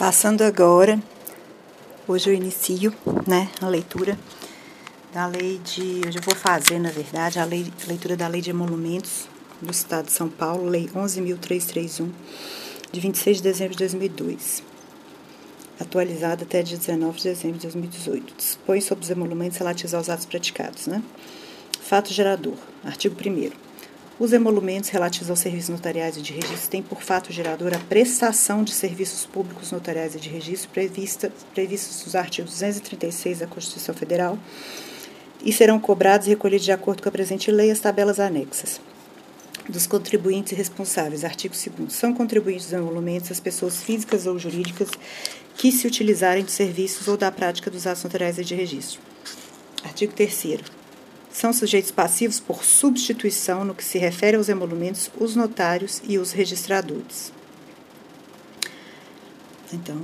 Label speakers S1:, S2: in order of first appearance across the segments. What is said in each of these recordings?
S1: Passando agora, hoje eu inicio, a leitura da lei de... Hoje eu vou fazer, na verdade, a leitura da Lei de Emolumentos do Estado de São Paulo, Lei 11.331, de 26 de dezembro de 2002, atualizada até dia 19 de dezembro de 2018. Dispõe sobre os emolumentos relativos aos atos praticados, Fato gerador. Artigo 1º. Os emolumentos relativos aos serviços notariais e de registro têm por fato gerador a prestação de serviços públicos notariais e de registro previstos nos artigos 236 da Constituição Federal e serão cobrados e recolhidos de acordo com a presente lei as tabelas anexas. Dos contribuintes e responsáveis. Artigo 2º. São contribuintes dos emolumentos as pessoas físicas ou jurídicas que se utilizarem de serviços ou da prática dos atos notariais e de registro. Artigo 3º. São sujeitos passivos por substituição no que se refere aos emolumentos os notários e os registradores. Então,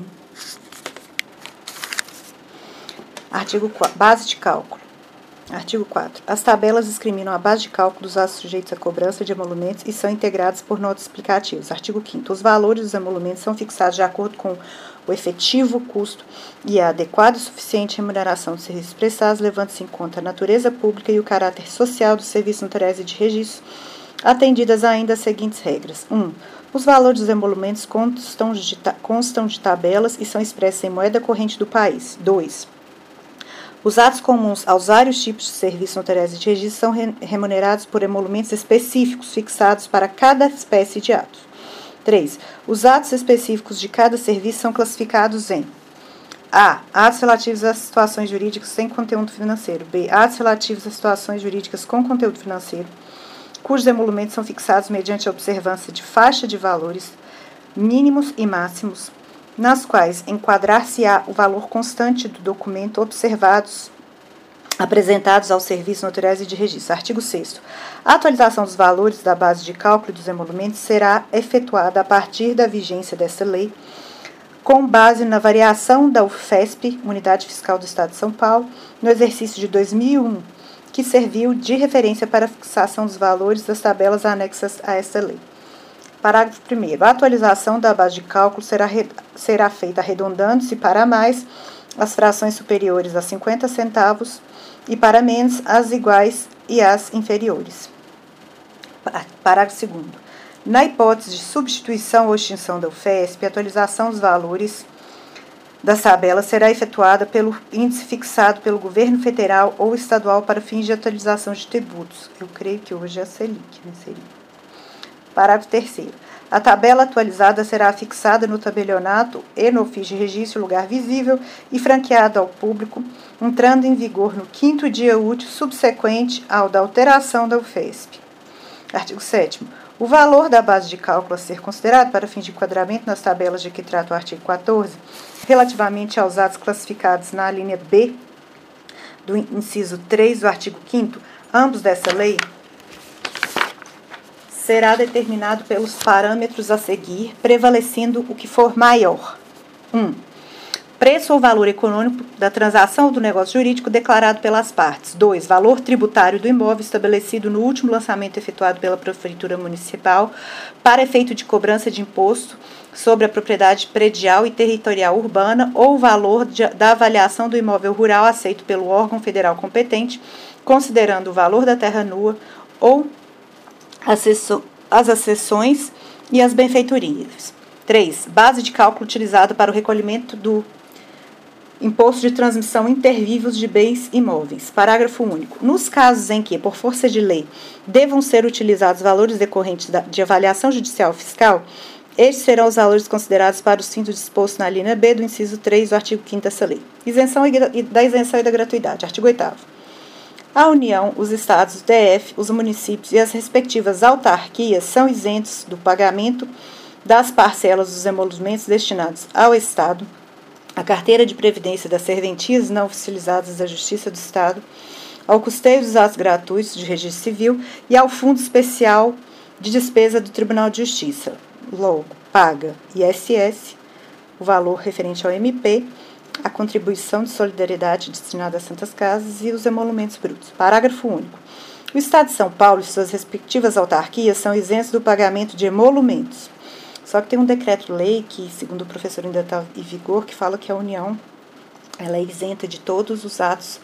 S1: artigo 4. Base de cálculo. Artigo 4. As tabelas discriminam a base de cálculo dos atos sujeitos à cobrança de emolumentos e são integradas por notas explicativas. Artigo 5º. Os valores dos emolumentos são fixados de acordo com o efetivo custo e a adequada e suficiente remuneração dos serviços prestados, levando-se em conta a natureza pública e o caráter social dos serviços notariais e de registro, atendidas ainda as seguintes regras. 1. Os valores dos emolumentos constam de tabelas e são expressos em moeda corrente do país. 2. Os atos comuns aos vários tipos de serviços notariais e de registro são remunerados por emolumentos específicos fixados para cada espécie de ato. 3. Os atos específicos de cada serviço são classificados em A. Atos relativos a situações jurídicas sem conteúdo financeiro. B. Atos relativos a situações jurídicas com conteúdo financeiro, cujos emolumentos são fixados mediante a observância de faixa de valores mínimos e máximos, nas quais enquadrar-se-á o valor constante do documento apresentados aos serviços notariais e de registro. Artigo 6º. A atualização dos valores da base de cálculo dos emolumentos será efetuada a partir da vigência desta lei, com base na variação da UFESP, Unidade Fiscal do Estado de São Paulo, no exercício de 2001, que serviu de referência para a fixação dos valores das tabelas anexas a esta lei. Parágrafo 1º. A atualização da base de cálculo será feita arredondando-se para mais as frações superiores a 50 centavos e para menos as iguais e as inferiores. Parágrafo 2º. Na hipótese de substituição ou extinção da UFESP, a atualização dos valores das tabelas será efetuada pelo índice fixado pelo governo federal ou estadual para fins de atualização de tributos. Eu creio que hoje é a Selic, seria. Parágrafo 3º. A tabela atualizada será fixada no tabelionato e no ofício de registro lugar visível e franqueada ao público, entrando em vigor no 5º dia útil subsequente ao da alteração da UFESP. Artigo 7º. O valor da base de cálculo a ser considerado para fins de enquadramento nas tabelas de que trata o artigo 14, relativamente aos atos classificados na linha B do inciso 3 do artigo 5º, ambos dessa lei, será determinado pelos parâmetros a seguir, prevalecendo o que for maior. 1. Preço ou valor econômico da transação ou do negócio jurídico declarado pelas partes. 2. Valor tributário do imóvel estabelecido no último lançamento efetuado pela Prefeitura Municipal para efeito de cobrança de imposto sobre a propriedade predial e territorial urbana ou o valor da avaliação do imóvel rural aceito pelo órgão federal competente, considerando o valor da terra nua ou as acessões e as benfeitorias. 3. Base de cálculo utilizada para o recolhimento do imposto de transmissão intervivos de bens imóveis. Parágrafo único. Nos casos em que, por força de lei, devam ser utilizados valores decorrentes de avaliação judicial fiscal, estes serão os valores considerados para os fins dispostos na linha B do inciso 3 do artigo 5º dessa lei. Isenção da isenção e da gratuidade. Artigo 8º. A União, os Estados, o DF, os municípios e as respectivas autarquias são isentos do pagamento das parcelas dos emolumentos destinados ao Estado, à carteira de previdência das serventias não oficializadas da Justiça do Estado, ao custeio dos atos gratuitos de registro civil e ao Fundo Especial de Despesa do Tribunal de Justiça. Logo, paga ISS, o valor referente ao MP, a contribuição de solidariedade destinada às Santas Casas e os emolumentos brutos. Parágrafo único. O Estado de São Paulo e suas respectivas autarquias são isentos do pagamento de emolumentos, Só que tem um decreto-lei que, segundo o professor, ainda está em vigor, que fala que a União ela é isenta de todos os atos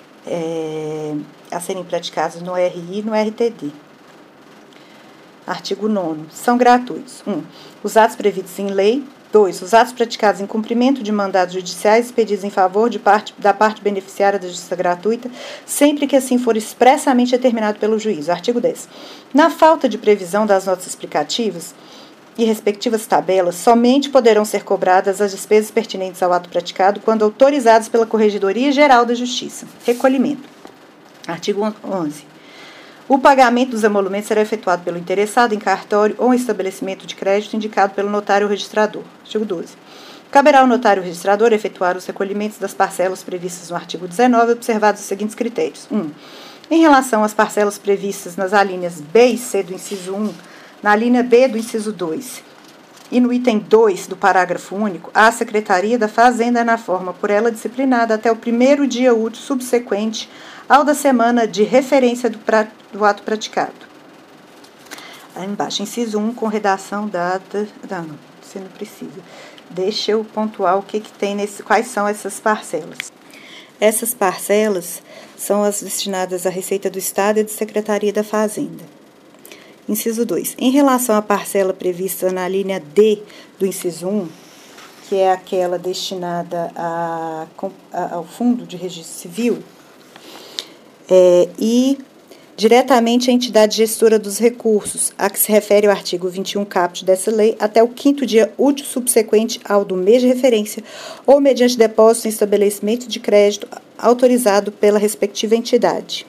S1: a serem praticados no RI e no RTD. Artigo 9º. São gratuitos. 1. Os atos previstos em lei. 2. Os atos praticados em cumprimento de mandados judiciais expedidos em favor da parte beneficiária da justiça gratuita, sempre que assim for expressamente determinado pelo juiz. Artigo 10. Na falta de previsão das notas explicativas e respectivas tabelas, somente poderão ser cobradas as despesas pertinentes ao ato praticado quando autorizadas pela Corregedoria Geral da Justiça. Recolhimento. Artigo 11. O pagamento dos emolumentos será efetuado pelo interessado em cartório ou em estabelecimento de crédito indicado pelo notário registrador. Artigo 12. Caberá ao notário registrador efetuar os recolhimentos das parcelas previstas no artigo 19, observados os seguintes critérios. 1. Em relação às parcelas previstas nas alíneas B e C do inciso 1, na linha B do inciso 2 e no item 2 do parágrafo único, a Secretaria da Fazenda, na forma por ela disciplinada, até o primeiro dia útil subsequente ao da semana de referência do ato praticado. Aí embaixo, inciso 1, com redação data... Não, você não precisa. Deixa eu pontuar o que tem quais são essas parcelas. Essas parcelas são as destinadas à Receita do Estado e da Secretaria da Fazenda. Inciso 2. Em relação à parcela prevista na linha D do inciso 1, que é aquela destinada ao Fundo de Registro Civil, e diretamente à entidade gestora dos recursos, a que se refere o artigo 21 caput dessa lei, até o 5º dia útil subsequente ao do mês de referência, ou mediante depósito em estabelecimento de crédito autorizado pela respectiva entidade.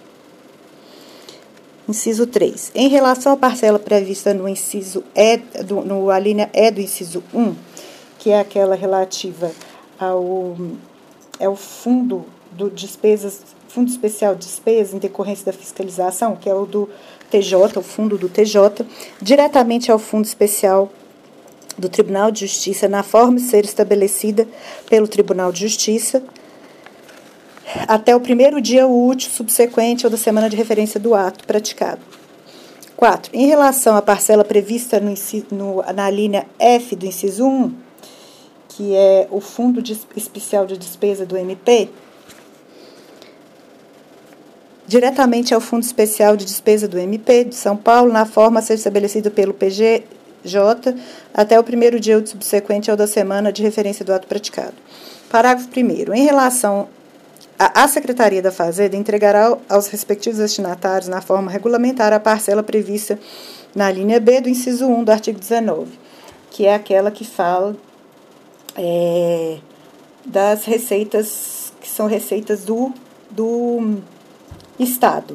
S1: Inciso 3. Em relação à parcela prevista no inciso a linha E do inciso 1, que é aquela relativa ao Fundo Especial de Despesas em decorrência da fiscalização, que é o do TJ, o fundo do TJ, diretamente ao Fundo Especial do Tribunal de Justiça, na forma de ser estabelecida pelo Tribunal de Justiça, até o primeiro dia útil subsequente ou da semana de referência do ato praticado. 4. Em relação à parcela prevista na linha F do inciso 1, que é o Fundo Especial de Despesa do MP, diretamente ao Fundo Especial de Despesa do MP de São Paulo, na forma a ser estabelecida pelo PGJ, até o primeiro dia útil subsequente ao da semana de referência do ato praticado. Parágrafo 1º. Em relação a Secretaria da Fazenda entregará aos respectivos destinatários, na forma regulamentar, a parcela prevista na linha B do inciso 1 do artigo 19, que é aquela que fala das receitas, que são receitas do Estado.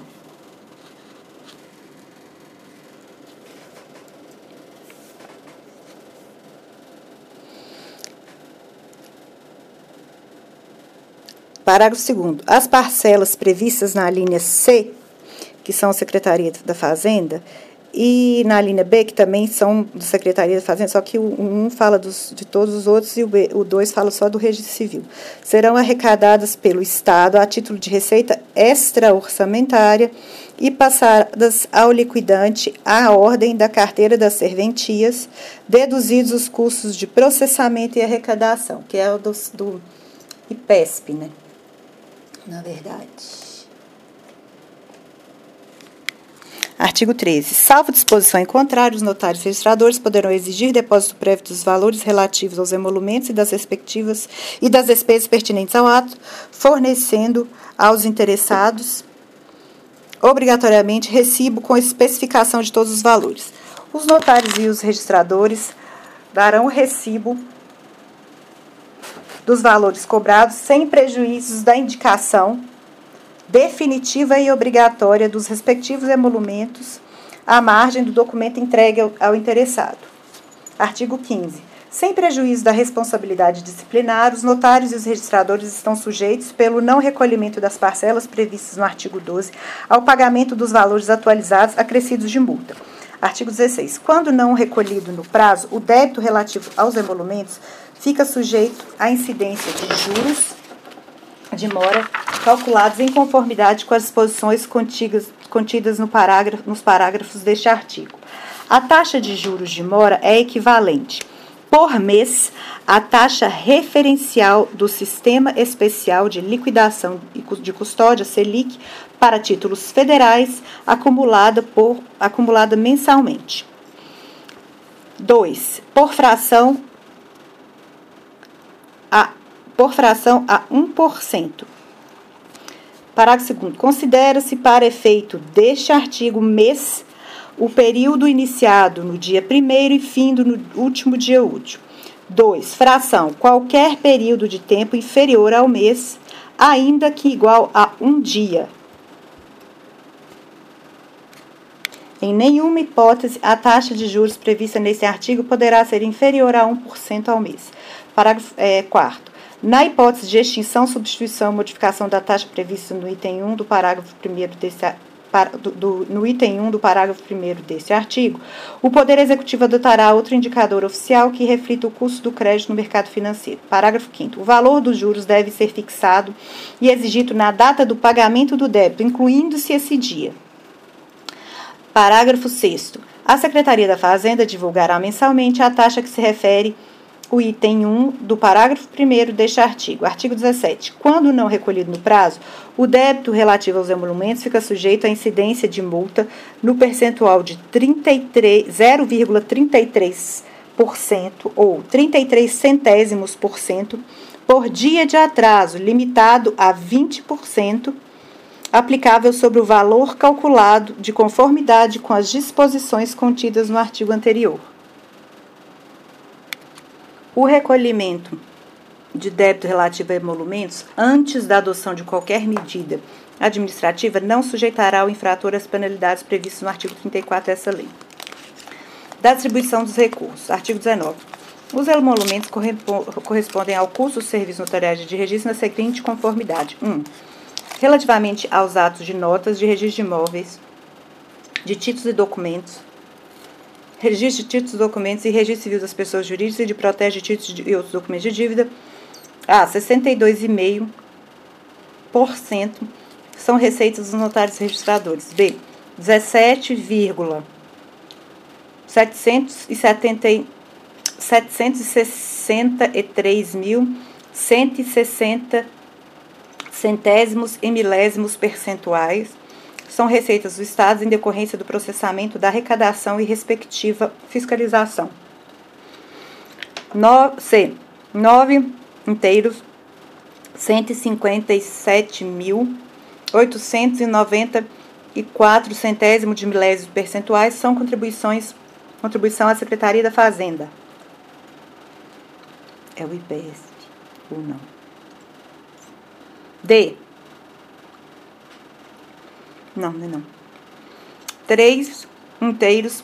S1: Parágrafo 2º. As parcelas previstas na linha C, que são a Secretaria da Fazenda, e na linha B, que também são da Secretaria da Fazenda, só que o 1 fala de todos os outros e o 2 fala só do Registro Civil, serão arrecadadas pelo Estado a título de receita extra-orçamentária e passadas ao liquidante à ordem da carteira das serventias, deduzidos os custos de processamento e arrecadação, que é o do IPESP, né? Na verdade. Artigo 13. Salvo disposição em contrário, os notários registradores poderão exigir depósito prévio dos valores relativos aos emolumentos e das despesas pertinentes ao ato, fornecendo aos interessados obrigatoriamente recibo com especificação de todos os valores. Os notários e os registradores darão o recibo dos valores cobrados sem prejuízos da indicação definitiva e obrigatória dos respectivos emolumentos à margem do documento entregue ao interessado. Artigo 15. Sem prejuízo da responsabilidade disciplinar, os notários e os registradores estão sujeitos, pelo não recolhimento das parcelas previstas no artigo 12, ao pagamento dos valores atualizados acrescidos de multa. Artigo 16. Quando não recolhido no prazo, o débito relativo aos emolumentos fica sujeito à incidência de juros, de mora calculados em conformidade com as disposições contidas nos parágrafos deste artigo. A taxa de juros de mora é equivalente, por mês, à taxa referencial do Sistema Especial de Liquidação de Custódia, Selic, para títulos federais, acumulada mensalmente. 2. Por fração a 1%. Parágrafo 2º. Considera-se para efeito deste artigo mês o período iniciado no dia 1º e findo no último dia útil. 2. Fração. Qualquer período de tempo inferior ao mês, ainda que igual a um dia. Em nenhuma hipótese, a taxa de juros prevista nesse artigo poderá ser inferior a 1% ao mês. Parágrafo 4º. Na hipótese de extinção, substituição ou modificação da taxa prevista no item 1 do parágrafo 1º deste artigo, o Poder Executivo adotará outro indicador oficial que reflita o custo do crédito no mercado financeiro. Parágrafo 5º. O valor dos juros deve ser fixado e exigido na data do pagamento do débito, incluindo-se esse dia. Parágrafo 6º. A Secretaria da Fazenda divulgará mensalmente a taxa que se refere o item 1 do parágrafo 1º deste artigo. Artigo 17. Quando não recolhido no prazo, o débito relativo aos emolumentos fica sujeito à incidência de multa no percentual de 0,33% ou 33 centésimos por cento por dia de atraso, limitado a 20%, aplicável sobre o valor calculado de conformidade com as disposições contidas no artigo anterior. O recolhimento de débito relativo a emolumentos, antes da adoção de qualquer medida administrativa, não sujeitará o infrator às penalidades previstas no artigo 34 dessa lei. Da distribuição dos recursos. Artigo 19. Os emolumentos correspondem ao custo dos serviços notariais de registro na seguinte conformidade. 1. Relativamente aos atos de notas, de registro de imóveis, de títulos e documentos, registro de títulos e documentos e registro civil das pessoas jurídicas e de protege de títulos e outros documentos de dívida, a 62,5% são receitas dos notários registradores. B. 763.160 centésimos e milésimos percentuais são receitas do Estado em decorrência do processamento da arrecadação e respectiva fiscalização. C. 9 inteiros, 157.894 centésimos de milésimos percentuais são contribuição à Secretaria da Fazenda. É o IPESP ou não? D. Não, não é não. 3 inteiros,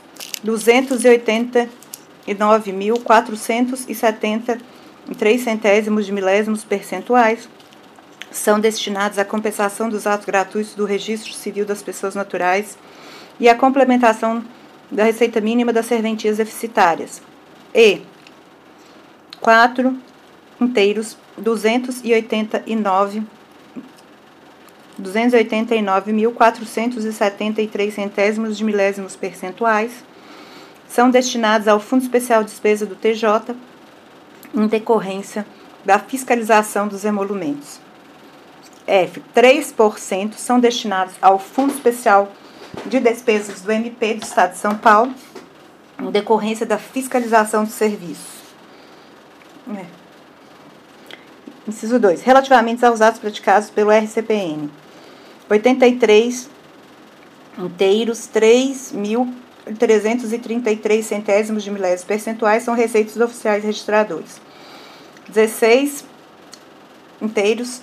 S1: 289.473 centésimos de milésimos percentuais são destinados à compensação dos atos gratuitos do registro civil das pessoas naturais e à complementação da receita mínima das serventias deficitárias. E. 4 inteiros, 289.473 centésimos de milésimos percentuais são destinados ao Fundo Especial de Despesa do TJ em decorrência da fiscalização dos emolumentos. F. 3% são destinados ao Fundo Especial de Despesas do MP do Estado de São Paulo em decorrência da fiscalização dos serviços. Inciso 2. Relativamente aos atos praticados pelo RCPN. 83 inteiros, 3.333 centésimos de milésimos percentuais são receitas dos oficiais registradores. 16 inteiros,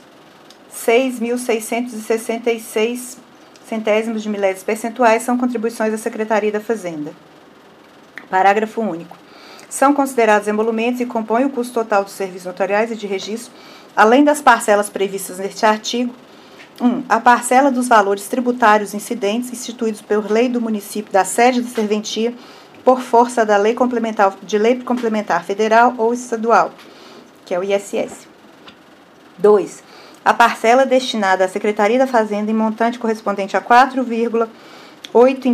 S1: 6.666 centésimos de milésimos percentuais são contribuições da Secretaria da Fazenda. Parágrafo único. São considerados emolumentos e compõem o custo total dos serviços notariais e de registro, além das parcelas previstas neste artigo. 1. A parcela dos valores tributários incidentes instituídos por lei do município da sede da serventia por força da lei complementar federal ou estadual, que é o ISS. 2. a parcela destinada à Secretaria da Fazenda em montante correspondente a 4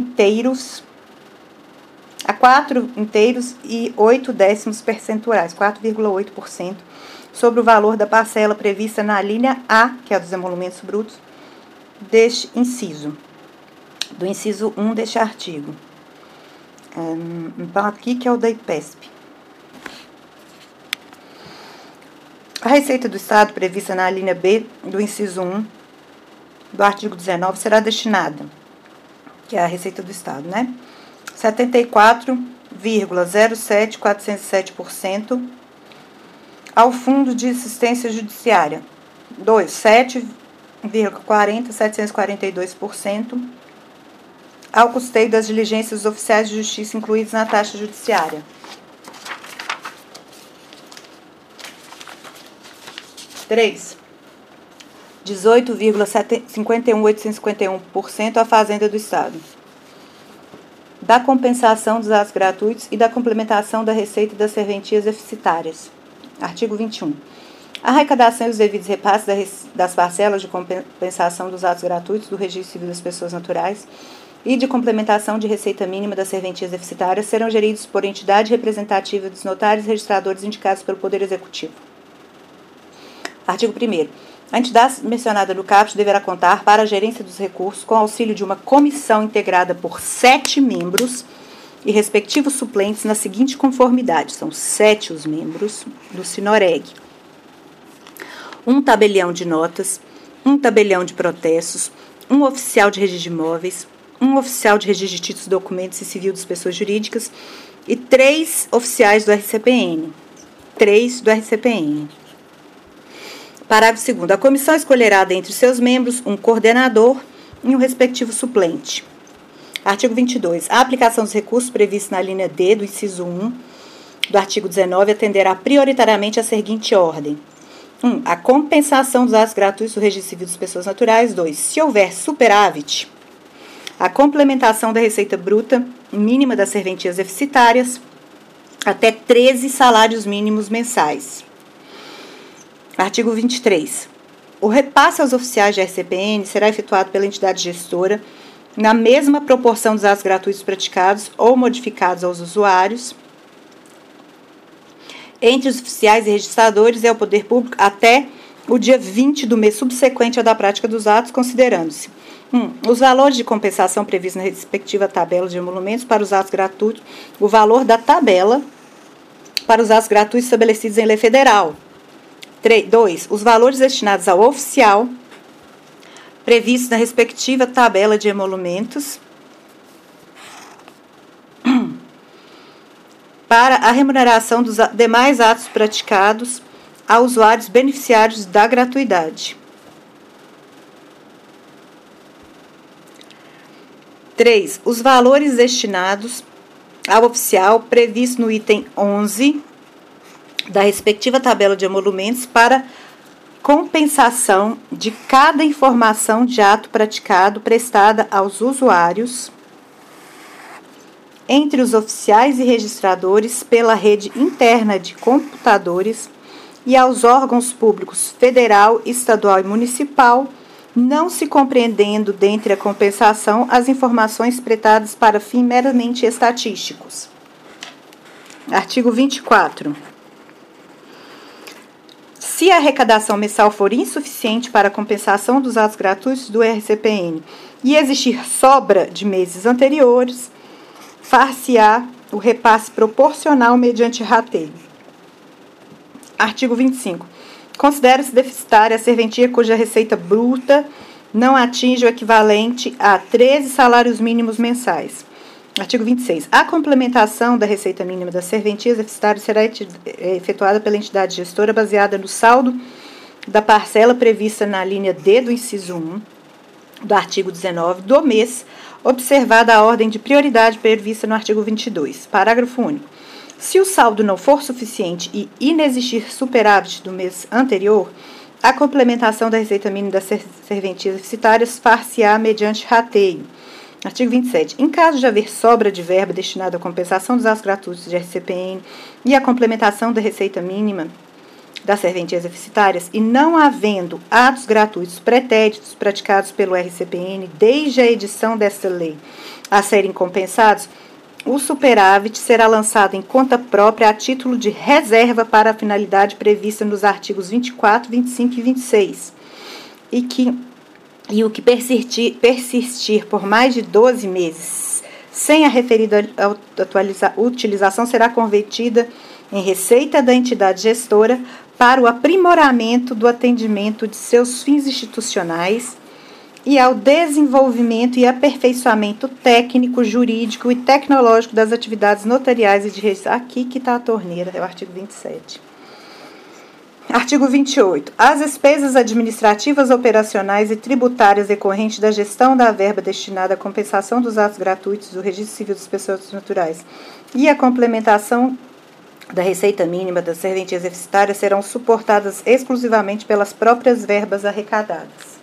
S1: inteiros e 8 décimos percentuais, 4,8%, sobre o valor da parcela prevista na linha A, que é a dos emolumentos brutos, deste inciso, do inciso 1 deste artigo. Então, aqui que é o da IPESP. A receita do Estado prevista na linha B do inciso 1 do artigo 19 será destinada, que é a receita do Estado, né? 74,07407% ao Fundo de Assistência Judiciária. 2. 7,40742% ao custeio das diligências dos oficiais de justiça incluídos na taxa judiciária. 3. 18,51851% à Fazenda do Estado. Da compensação dos atos gratuitos e da complementação da receita das serventias deficitárias. Artigo 21. A arrecadação e os devidos repasses das parcelas de compensação dos atos gratuitos do Registro Civil das Pessoas Naturais e de complementação de receita mínima das serventias deficitárias serão geridos por entidade representativa dos notários e registradores indicados pelo Poder Executivo. Artigo 1º. A entidade mencionada no caput deverá contar para a gerência dos recursos com auxílio de uma comissão integrada por 7 membros e respectivos suplentes na seguinte conformidade. São 7 os membros do Sinoreg. Um tabelião de notas, um tabelião de protestos, um oficial de registro de imóveis, um oficial de registro de títulos, documentos e civil das pessoas jurídicas e 3 oficiais do RCPN. 3 do RCPN. Parágrafo 2º. A comissão escolherá dentre seus membros um coordenador e um respectivo suplente. Artigo 22. A aplicação dos recursos previstos na linha D do inciso 1 do artigo 19 atenderá prioritariamente à seguinte ordem. 1. A compensação dos atos gratuitos do Registro Civil das Pessoas Naturais. 2. Se houver superávit, a complementação da receita bruta mínima das serventias deficitárias até 13 salários mínimos mensais. Artigo 23. O repasse aos oficiais de RCPN será efetuado pela entidade gestora na mesma proporção dos atos gratuitos praticados ou modificados aos usuários entre os oficiais e registradores e ao poder público até o dia 20 do mês subsequente ao da prática dos atos, considerando-se 1. Os valores de compensação previstos na respectiva tabela de emolumentos para os atos gratuitos, o valor da tabela para os atos gratuitos estabelecidos em lei federal. 2. Os valores destinados ao oficial previstos na respectiva tabela de emolumentos para a remuneração dos demais atos praticados a usuários beneficiários da gratuidade. 3. Os valores destinados ao oficial previsto no item 11 da respectiva tabela de emolumentos para compensação de cada informação de ato praticado prestada aos usuários entre os oficiais e registradores pela rede interna de computadores e aos órgãos públicos federal, estadual e municipal, não se compreendendo dentre a compensação as informações prestadas para fins meramente estatísticos. Artigo 24. Se a arrecadação mensal for insuficiente para a compensação dos atos gratuitos do RCPN e existir sobra de meses anteriores, far-se-á o repasse proporcional mediante rateio. Artigo 25. Considera-se deficitária a serventia cuja receita bruta não atinge o equivalente a 13 salários mínimos mensais. Artigo 26. A complementação da receita mínima das serventias deficitárias será efetuada pela entidade gestora baseada no saldo da parcela prevista na linha D do inciso 1 do artigo 19 do mês, observada a ordem de prioridade prevista no artigo 22. Parágrafo único. Se o saldo não for suficiente e inexistir superávit do mês anterior, a complementação da receita mínima das serventias deficitárias far-se-á mediante rateio. Artigo 27. Em caso de haver sobra de verba destinada à compensação dos atos gratuitos de RCPN e à complementação da receita mínima, das serventias deficitárias e não havendo atos gratuitos pretéritos praticados pelo RCPN desde a edição desta lei a serem compensados, o superávit será lançado em conta própria a título de reserva para a finalidade prevista nos artigos 24, 25 e 26, e o que persistir por mais de 12 meses sem a referida utilização será convertida em receita da entidade gestora para o aprimoramento do atendimento de seus fins institucionais e ao desenvolvimento e aperfeiçoamento técnico, jurídico e tecnológico das atividades notariais e de registro. Aqui que está a torneira, é o artigo 27. Artigo 28. As despesas administrativas, operacionais e tributárias decorrentes da gestão da verba destinada à compensação dos atos gratuitos do Registro Civil das Pessoas Naturais e a complementação da receita mínima das serventias deficitárias serão suportadas exclusivamente pelas próprias verbas arrecadadas.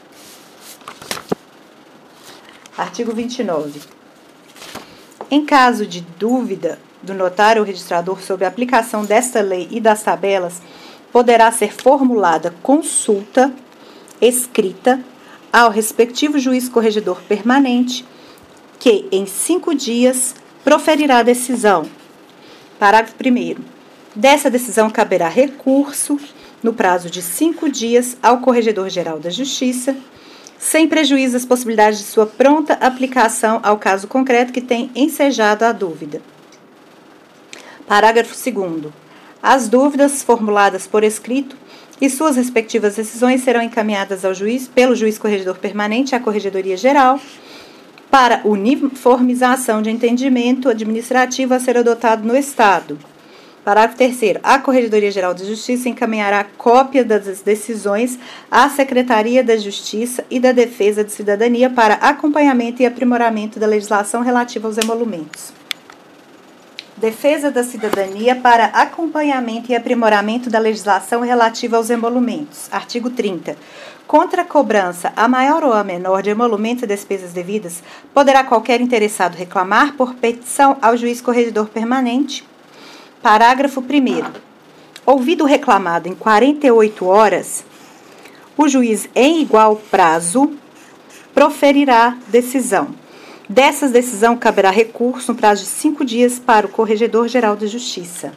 S1: Artigo 29. Em caso de dúvida do notário ou registrador sobre a aplicação desta lei e das tabelas, poderá ser formulada consulta escrita ao respectivo juiz corregedor permanente, que, em 5 dias, proferirá a decisão. Parágrafo 1º. Dessa decisão caberá recurso, no prazo de 5 dias, ao Corregedor-Geral da Justiça, sem prejuízo das possibilidades de sua pronta aplicação ao caso concreto que tem ensejado a dúvida. Parágrafo 2º. As dúvidas formuladas por escrito e suas respectivas decisões serão encaminhadas ao juiz, pelo juiz corregedor permanente à Corregedoria Geral, para uniformização de entendimento administrativo a ser adotado no Estado. Parágrafo 3º. A Corregedoria Geral de Justiça encaminhará cópia das decisões à Secretaria da Justiça e da Defesa de Cidadania para acompanhamento e aprimoramento da legislação relativa aos emolumentos. Defesa da Cidadania para acompanhamento e aprimoramento da legislação relativa aos emolumentos. Artigo 30. Contra a cobrança, a maior ou a menor, de emolumentos e despesas devidas, poderá qualquer interessado reclamar por petição ao juiz corregedor permanente. Parágrafo 1º. Ouvido o reclamado em 48 horas, o juiz, em igual prazo, proferirá decisão. Dessas decisão caberá recurso no prazo de 5 dias para o Corregedor-Geral da Justiça.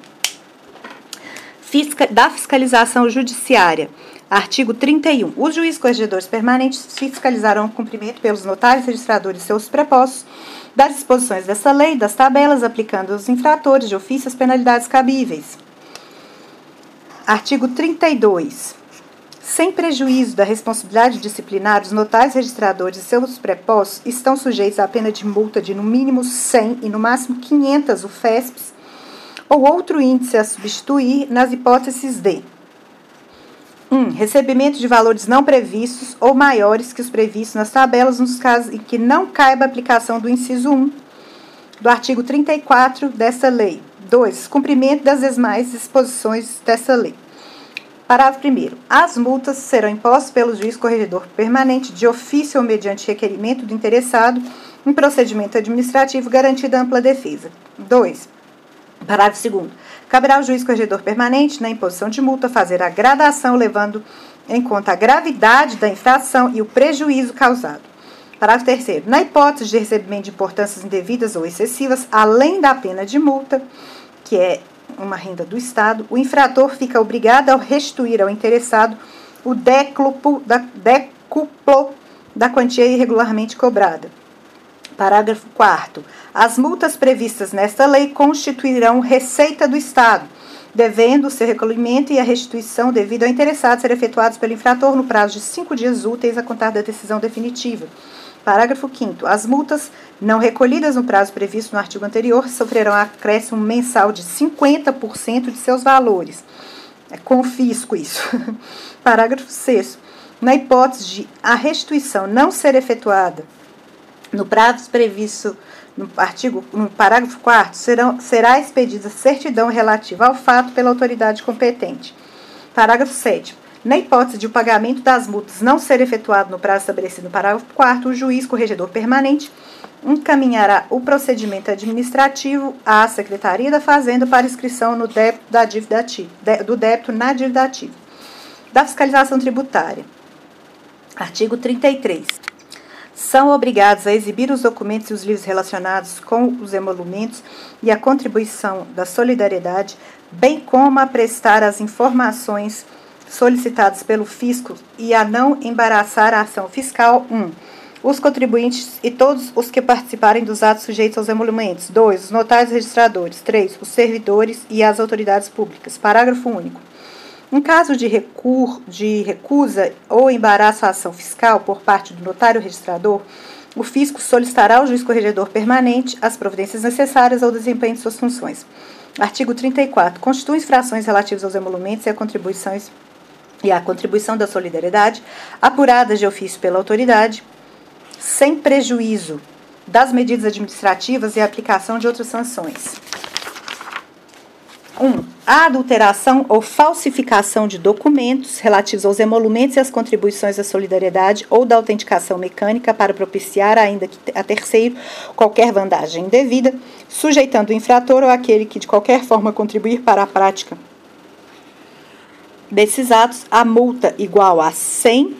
S1: Da fiscalização judiciária. Artigo 31. Os juízes corregedores permanentes fiscalizarão o cumprimento pelos notários, registradores e seus prepostos das disposições dessa lei, das tabelas, aplicando aos infratores de ofício as penalidades cabíveis. Artigo 32. Sem prejuízo da responsabilidade disciplinar, os notários, registradores e seus prepostos estão sujeitos à pena de multa de no mínimo 100 e no máximo 500 UFESPs ou outro índice a substituir nas hipóteses de 1. Recebimento de valores não previstos ou maiores que os previstos nas tabelas nos casos em que não caiba a aplicação do inciso 1 do artigo 34 desta lei. 2. Cumprimento das demais disposições dessa lei. Parágrafo 1º. As multas serão impostas pelo juiz corregedor permanente de ofício ou mediante requerimento do interessado em procedimento administrativo garantida ampla defesa. 2. Parágrafo 2º. Caberá ao juiz corregedor permanente, na imposição de multa, fazer a gradação levando em conta a gravidade da infração e o prejuízo causado. Parágrafo 3º. Na hipótese de recebimento de importâncias indevidas ou excessivas, além da pena de multa, que é uma renda do Estado, o infrator fica obrigado a restituir ao interessado o décuplo da quantia irregularmente cobrada. Parágrafo 4º. As multas previstas nesta lei constituirão receita do Estado, devendo o seu recolhimento e a restituição devido ao interessado ser efetuados pelo infrator no prazo de 5 dias úteis a contar da decisão definitiva. Parágrafo 5º. As multas não recolhidas no prazo previsto no artigo anterior sofrerão acréscimo mensal de 50% de seus valores. É confisco isso. Parágrafo 6º. Na hipótese de a restituição não ser efetuada no prazo previsto no parágrafo 4º, será expedida certidão relativa ao fato pela autoridade competente. Parágrafo 7º. Na hipótese de o pagamento das multas não ser efetuado no prazo estabelecido no parágrafo 4º, o juiz corregedor permanente encaminhará o procedimento administrativo à Secretaria da Fazenda para inscrição no débito da dívida ativa, do débito na dívida ativa. Da fiscalização tributária. Artigo 33. São obrigados a exibir os documentos e os livros relacionados com os emolumentos e a contribuição da solidariedade, bem como a prestar as informações solicitadas pelo fisco e a não embaraçar a ação fiscal. 1. Os contribuintes e todos os que participarem dos atos sujeitos aos emolumentos. 2. Os notários registradores. 3. Os servidores e as autoridades públicas. Parágrafo único. Em caso de recusa ou embaraço à ação fiscal por parte do notário registrador, o fisco solicitará ao juiz corregedor permanente as providências necessárias ao desempenho de suas funções. Artigo 34. Constituem infrações relativas aos emolumentos e a contribuição da solidariedade, apuradas de ofício pela autoridade, sem prejuízo das medidas administrativas e a aplicação de outras sanções. 1. A adulteração ou falsificação de documentos relativos aos emolumentos e às contribuições da solidariedade ou da autenticação mecânica para propiciar, ainda que a terceiro, qualquer vantagem indevida, sujeitando o infrator ou aquele que de qualquer forma contribuir para a prática desses atos a multa igual a 100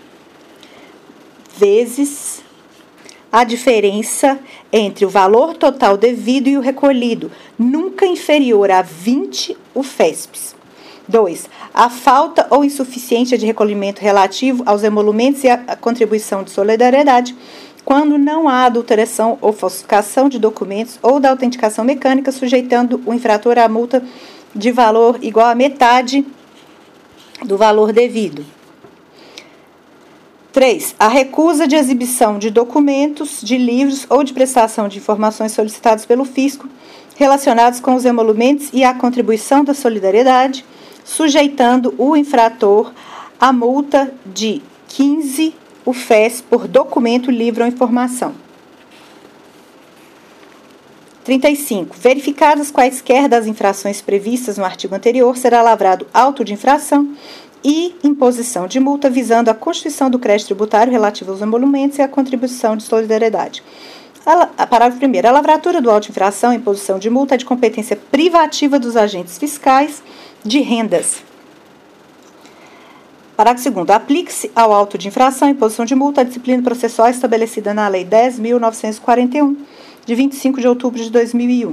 S1: vezes a diferença entre o valor total devido e o recolhido, nunca inferior a 20 UFESPs. 2. A falta ou insuficiência de recolhimento relativo aos emolumentos e à contribuição de solidariedade, quando não há adulteração ou falsificação de documentos ou da autenticação mecânica, sujeitando o infrator à multa de valor igual a metade do valor devido. 3. A recusa de exibição de documentos, de livros ou de prestação de informações solicitados pelo fisco relacionados com os emolumentos e a contribuição da solidariedade, sujeitando o infrator à multa de 15 UFES por documento, livro ou informação. 35. Verificadas quaisquer das infrações previstas no artigo anterior, será lavrado auto de infração e imposição de multa visando a constituição do crédito tributário relativo aos emolumentos e a contribuição de solidariedade. Parágrafo 1º. A lavratura do auto de infração e imposição de multa é de competência privativa dos agentes fiscais de rendas. Parágrafo 2º. Aplique-se ao auto de infração e imposição de multa a disciplina processual estabelecida na Lei 10.941, de 25 de outubro de 2001.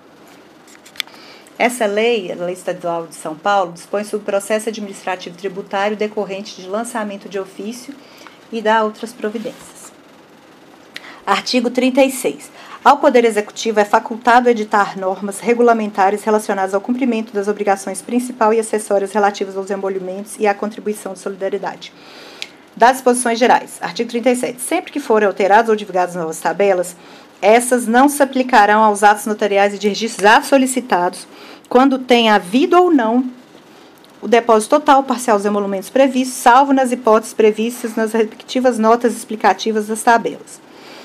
S1: Essa lei, a Lei Estadual de São Paulo, dispõe sobre o processo administrativo tributário decorrente de lançamento de ofício e dá outras providências. Artigo 36. Ao Poder Executivo é facultado editar normas regulamentares relacionadas ao cumprimento das obrigações principal e acessórias relativas aos emolumentos e à contribuição de solidariedade. Das disposições gerais. Artigo 37. Sempre que forem alteradas ou divulgadas novas tabelas, essas não se aplicarão aos atos notariais e de registros já solicitados, quando tenha havido ou não o depósito total ou parcial dos emolumentos previstos, salvo nas hipóteses previstas nas respectivas notas explicativas das tabelas.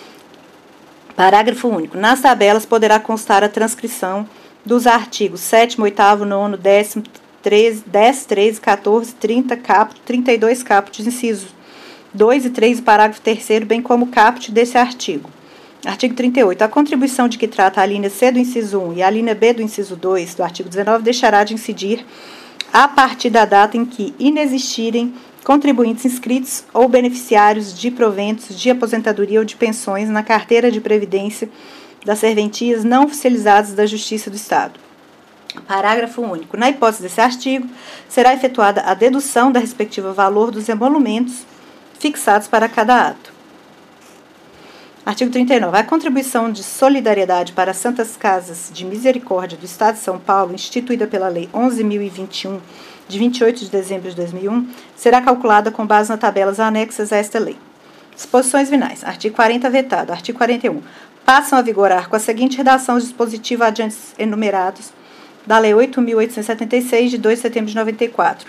S1: Parágrafo único. Nas tabelas poderá constar a transcrição dos artigos 7º, 8º, 9º, 10º, 10, 13, 14, 30, caput, 32 caput, incisos 2 e 3 e parágrafo 3º, bem como o caput desse artigo. Artigo 38. A contribuição de que trata a linha C do inciso 1 e a linha B do inciso 2 do artigo 19 deixará de incidir a partir da data em que inexistirem contribuintes inscritos ou beneficiários de proventos de aposentadoria ou de pensões na carteira de previdência das serventias não oficializadas da Justiça do Estado. Parágrafo único. Na hipótese desse artigo, será efetuada a dedução da respectiva valor dos emolumentos fixados para cada ato. Artigo 39. A contribuição de solidariedade para as Santas Casas de Misericórdia do Estado de São Paulo, instituída pela Lei 11.021, de 28 de dezembro de 2001, será calculada com base nas tabelas anexas a esta lei. Disposições finais. Artigo 40, vetado. Artigo 41. Passam a vigorar com a seguinte redação os dispositivos adiante enumerados da Lei 8.876, de 2 de setembro de 94.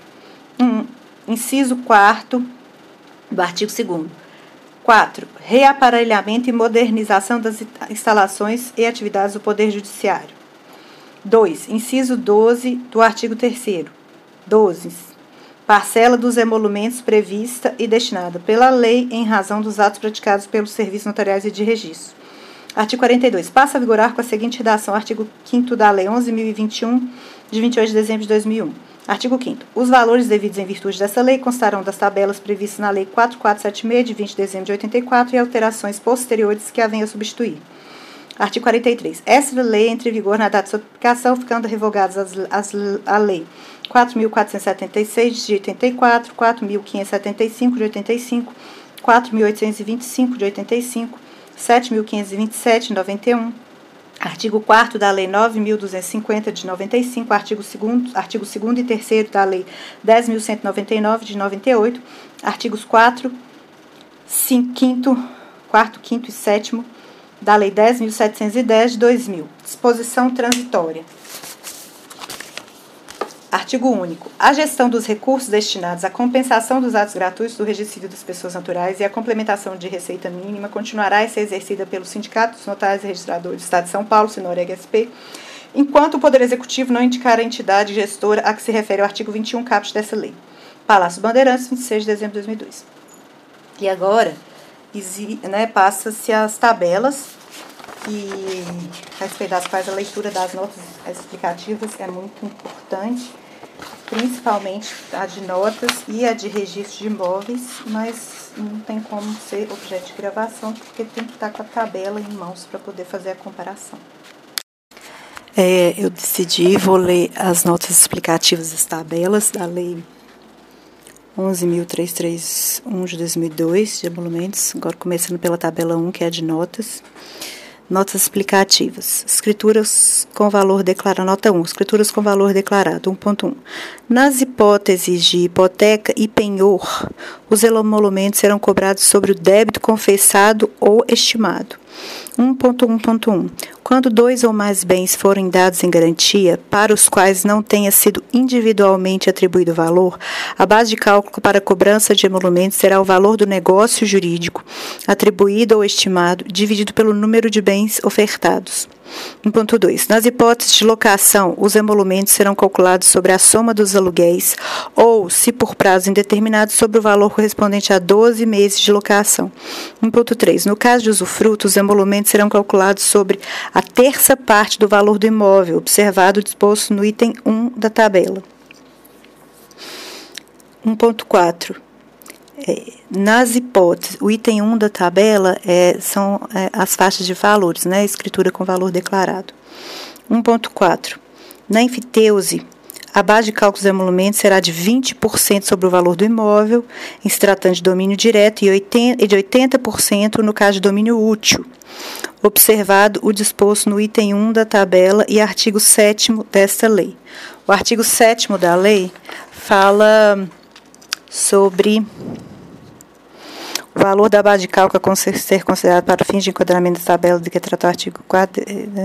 S1: Inciso 4º do artigo 2º. 4. Reaparelhamento e modernização das instalações e atividades do Poder Judiciário. 2. Inciso 12 do artigo 3º. 12. Parcela dos emolumentos prevista e destinada pela lei em razão dos atos praticados pelos serviços notariais e de registro. Artigo 42. Passa a vigorar com a seguinte redação. Artigo 5º da Lei 11.021, de 28 de dezembro de 2001. Artigo 5º. Os valores devidos em virtude dessa lei constarão das tabelas previstas na Lei 4476, de 20 de dezembro de 84, e alterações posteriores que a venha substituir. Artigo 43. Essa lei entra em vigor na data de sua publicação, ficando revogadas a Lei 4.476, de 84, 4.575, de 85, 4.825, de 85, 7.527, de 91, artigo 4º da Lei 9.250, de 95, artigo 2º e 3º da Lei 10.199, de 98, artigos 4º, 5º e 7º da Lei 10.710, de 2000. Disposição transitória. Artigo único. A gestão dos recursos destinados à compensação dos atos gratuitos do registro civil das pessoas naturais e a complementação de receita mínima continuará a ser exercida pelo Sindicato dos Notários e Registradores do Estado de São Paulo, Sinoreg-SP, enquanto o Poder Executivo não indicar a entidade gestora a que se refere o artigo 21 caput dessa lei. Palácio Bandeirantes, 26 de dezembro de 2002. E agora, passa-se as tabelas, e a respeito das quais a leitura das notas explicativas é muito importante, principalmente a de notas e a de registro de imóveis, mas não tem como ser objeto de gravação, porque tem que estar com a tabela em mãos para poder fazer a comparação. Eu vou ler as notas explicativas das tabelas da Lei 11.331 de 2002, de emolumentos, agora começando pela tabela 1, que é a de notas. Notas explicativas. Escrituras com valor declarado. Nota 1. Escrituras com valor declarado. 1.1. Nas hipóteses de hipoteca e penhor, os emolumentos serão cobrados sobre o débito confessado ou estimado. 1.1.1. Quando 2 ou mais bens forem dados em garantia, para os quais não tenha sido individualmente atribuído valor, a base de cálculo para a cobrança de emolumentos será o valor do negócio jurídico atribuído ou estimado, dividido pelo número de bens ofertados. 1.2. Nas hipóteses de locação, os emolumentos serão calculados sobre a soma dos aluguéis ou, se por prazo indeterminado, sobre o valor correspondente a 12 meses de locação. 1.3. No caso de usufruto, os emolumentos serão calculados sobre a terça parte do valor do imóvel, observado o disposto no item 1 da tabela. 1.4. Nas hipóteses, o item 1 da tabela são as faixas de valores, escritura com valor declarado. 1.4. Na enfiteuse, a base de cálculo dos emolumentos será de 20% sobre o valor do imóvel, em se tratando de domínio direto, e de 80% no caso de domínio útil, observado o disposto no item 1 da tabela e artigo 7º desta lei. O artigo 7º da lei fala sobre o valor da base de cálculo a ser considerado para fins de enquadramento da tabela de que trata o artigo 4.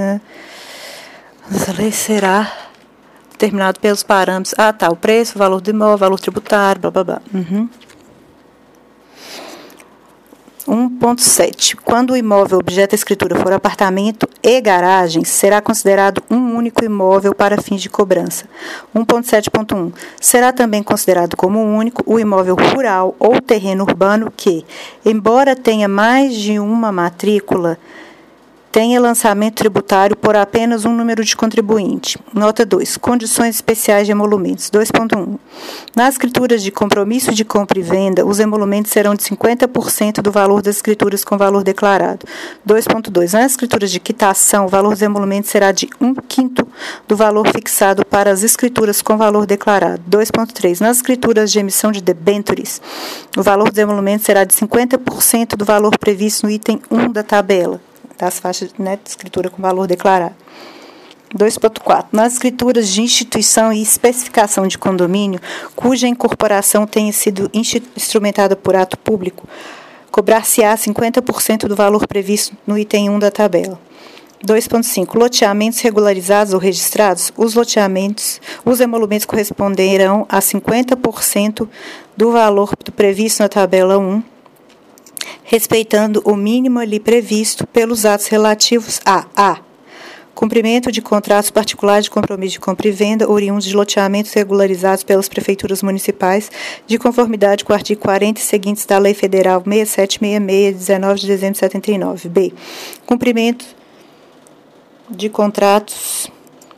S1: Essa lei será determinado pelos parâmetros. O preço, o valor do imóvel, o valor tributário, blá, blá, blá. 1.7. Quando o imóvel objeto da escritura for apartamento e garagem, será considerado um único imóvel para fins de cobrança. 1.7.1. Será também considerado como único o imóvel rural ou terreno urbano que, embora tenha mais de uma matrícula, tenha lançamento tributário por apenas um número de contribuinte. Nota 2. Condições especiais de emolumentos. 2.1. Nas escrituras de compromisso de compra e venda, os emolumentos serão de 50% do valor das escrituras com valor declarado. 2.2. Nas escrituras de quitação, o valor dos emolumentos será de 1/5 do valor fixado para as escrituras com valor declarado. 2.3. Nas escrituras de emissão de debêntures, o valor dos emolumentos será de 50% do valor previsto no item 1 da tabela das faixas de escritura com valor declarado. 2.4. Nas escrituras de instituição e especificação de condomínio, cuja incorporação tenha sido instrumentada por ato público, cobrar-se-á 50% do valor previsto no item 1 da tabela. 2.5. Loteamentos regularizados ou registrados, os emolumentos corresponderão a 50% do valor previsto na tabela 1, respeitando o mínimo ali previsto pelos atos relativos a Cumprimento de contratos particulares de compromisso de compra e venda oriundos de loteamentos regularizados pelas prefeituras municipais, de conformidade com o artigo 40 e seguintes da Lei Federal 6766, 19 de dezembro de 79. B. Cumprimento de contratos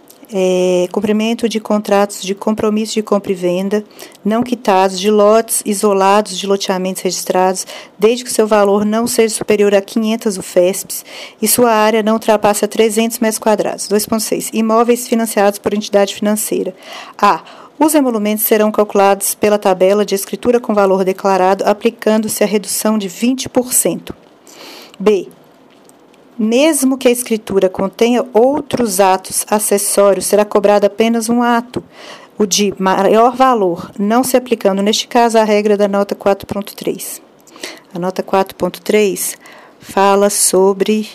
S1: de compromisso de compra e venda não quitados de lotes isolados de loteamentos registrados, desde que seu valor não seja superior a 500 UFESPs e sua área não ultrapasse a 300 metros quadrados. 2.6. Imóveis financiados por entidade financeira. A. Os emolumentos serão calculados pela tabela de escritura com valor declarado, aplicando-se a redução de 20%. B. Mesmo que a escritura contenha outros atos acessórios, será cobrado apenas um ato, o de maior valor, não se aplicando, neste caso, a regra da nota 4.3. A nota 4.3 fala sobre...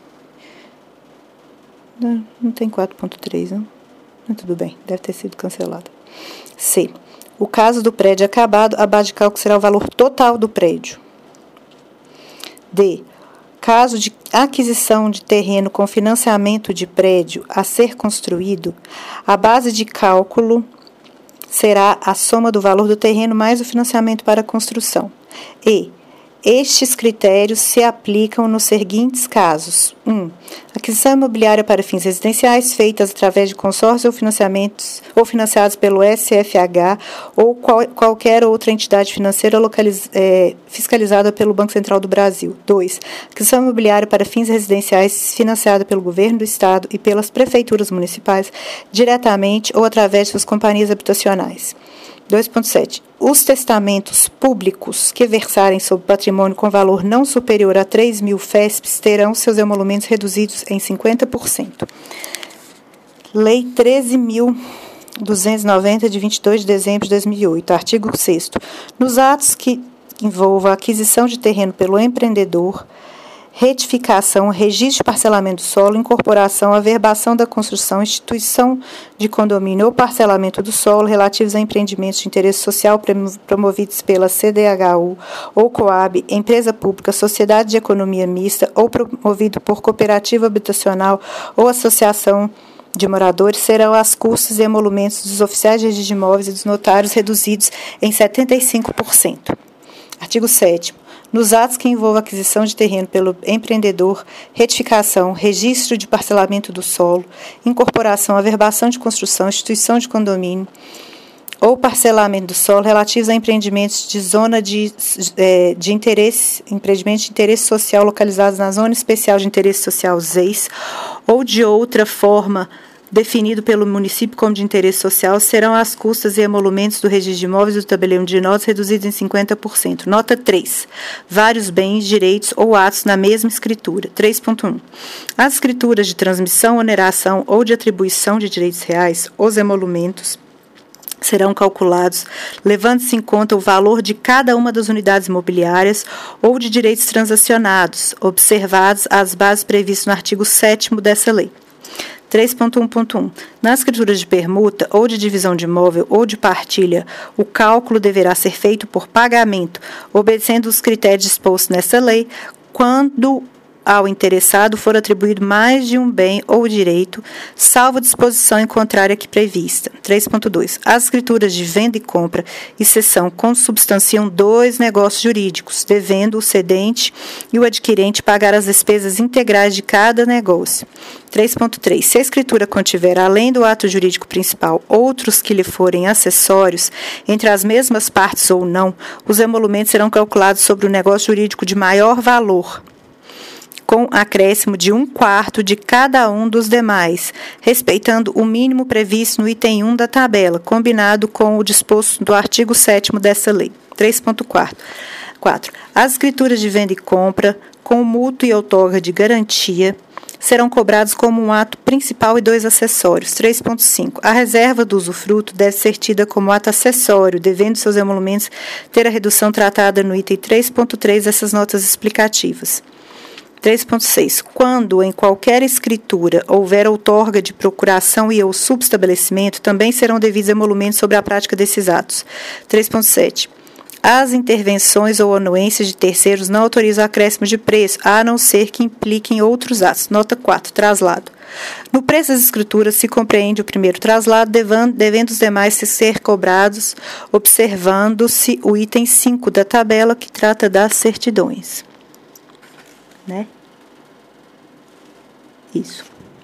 S1: Não tem 4.3, não? Tudo bem, deve ter sido cancelado. C. O caso do prédio acabado, a base de cálculo será o valor total do prédio. D. Caso de aquisição de terreno com financiamento de prédio a ser construído, a base de cálculo será a soma do valor do terreno mais o financiamento para a construção. E estes critérios se aplicam nos seguintes casos. 1. Aquisição imobiliária para fins residenciais feitas através de consórcios ou financiamentos ou financiados pelo SFH ou qualquer outra entidade financeira fiscalizada pelo Banco Central do Brasil. 2. Aquisição imobiliária para fins residenciais financiada pelo governo do Estado e pelas prefeituras municipais diretamente ou através de suas companhias habitacionais. 2.7. Os testamentos públicos que versarem sobre patrimônio com valor não superior a 3.000 FESPs terão seus emolumentos reduzidos em 50%. Lei 13.290, de 22 de dezembro de 2008. Artigo 6º. Nos atos que envolvam a aquisição de terreno pelo empreendedor, retificação, registro de parcelamento do solo, incorporação, averbação da construção, instituição de condomínio ou parcelamento do solo relativos a empreendimentos de interesse social promovidos pela CDHU ou Coab, empresa pública, sociedade de economia mista ou promovido por cooperativa habitacional ou associação de moradores serão as custas e emolumentos dos oficiais de registro de imóveis e dos notários reduzidos em 75%. Artigo 7º. Nos atos que envolvam aquisição de terreno pelo empreendedor, retificação, registro de parcelamento do solo, incorporação, averbação de construção, instituição de condomínio ou parcelamento do solo relativos a empreendimentos de zona de interesse, empreendimentos de interesse social localizados na Zona Especial de Interesse Social ZEIS ou de outra forma definido pelo município como de interesse social, serão as custas e emolumentos do registro de imóveis e do tabelião de notas reduzidos em 50%. Nota 3. Vários bens, direitos ou atos na mesma escritura. 3.1. As escrituras de transmissão, oneração ou de atribuição de direitos reais, os emolumentos, serão calculados levando-se em conta o valor de cada uma das unidades imobiliárias ou de direitos transacionados, observados as bases previstas no artigo 7º dessa lei. 3.1.1. Nas escrituras de permuta ou de divisão de imóvel ou de partilha, o cálculo deverá ser feito por pagamento, obedecendo os critérios dispostos nessa lei, quando ao interessado for atribuído mais de um bem ou direito, salvo disposição em contrária que prevista. 3.2. As escrituras de venda e compra e cessão consubstanciam dois negócios jurídicos, devendo o cedente e o adquirente pagar as despesas integrais de cada negócio. 3.3. Se a escritura contiver, além do ato jurídico principal, outros que lhe forem acessórios, entre as mesmas partes ou não, os emolumentos serão calculados sobre o negócio jurídico de maior valor, com acréscimo de 1/4 de cada um dos demais, respeitando o mínimo previsto no item 1 da tabela, combinado com o disposto do artigo 7º dessa lei. 3.4. As escrituras de venda e compra, com mútuo e outorga de garantia, serão cobrados como um ato principal e dois acessórios. 3.5. A reserva do usufruto deve ser tida como ato acessório, devendo seus emolumentos ter a redução tratada no item 3.3 dessas notas explicativas. 3.6. Quando em qualquer escritura houver outorga de procuração e ou subestabelecimento, também serão devidos emolumentos sobre a prática desses atos. 3.7. As intervenções ou anuências de terceiros não autorizam acréscimo de preço, a não ser que impliquem outros atos. Nota 4. Traslado. No preço das escrituras se compreende o primeiro traslado, devendo os demais ser cobrados, observando-se o item 5 da tabela que trata das certidões. Né? Isso.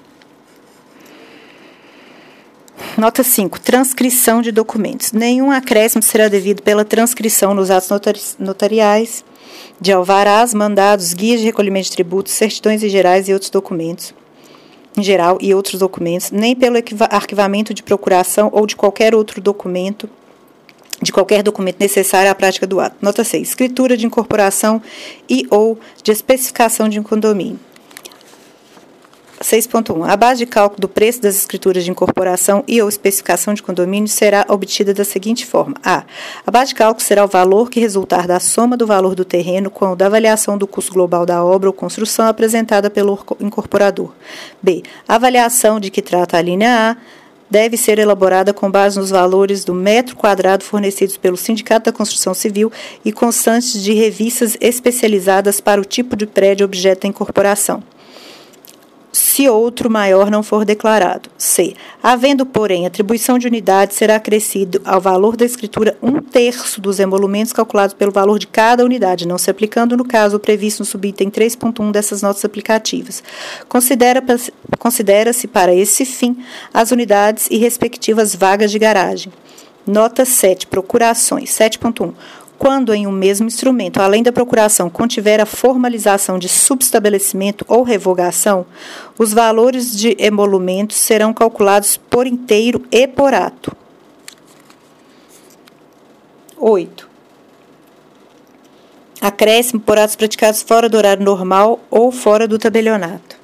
S1: Nota 5. Transcrição de documentos. Nenhum acréscimo será devido pela transcrição nos atos notariais, de alvarás, mandados, guias de recolhimento de tributos, certidões em gerais e outros documentos, em geral e outros documentos, nem pelo arquivamento de procuração ou de qualquer outro documento, necessário à prática do ato. Nota 6. Escritura de incorporação e ou de especificação de um condomínio. 6.1. A base de cálculo do preço das escrituras de incorporação e ou especificação de condomínio será obtida da seguinte forma. A base de cálculo será o valor que resultar da soma do valor do terreno com o da avaliação do custo global da obra ou construção apresentada pelo incorporador. B. A avaliação de que trata a linha A deve ser elaborada com base nos valores do metro quadrado fornecidos pelo Sindicato da Construção Civil e constantes de revistas especializadas para o tipo de prédio objeto da incorporação, se outro maior não for declarado. C. Havendo, porém, atribuição de unidade, será acrescido ao valor da escritura 1/3 dos emolumentos calculados pelo valor de cada unidade, não se aplicando, no caso, o previsto no subitem 3.1 dessas notas aplicativas. Considera-se para esse fim as unidades e respectivas vagas de garagem. Nota 7. Procurações. 7.1. Quando em um mesmo instrumento, além da procuração, contiver a formalização de subestabelecimento ou revogação, os valores de emolumentos serão calculados por inteiro e por ato. 8. Acréscimo por atos praticados fora do horário normal ou fora do tabelionato.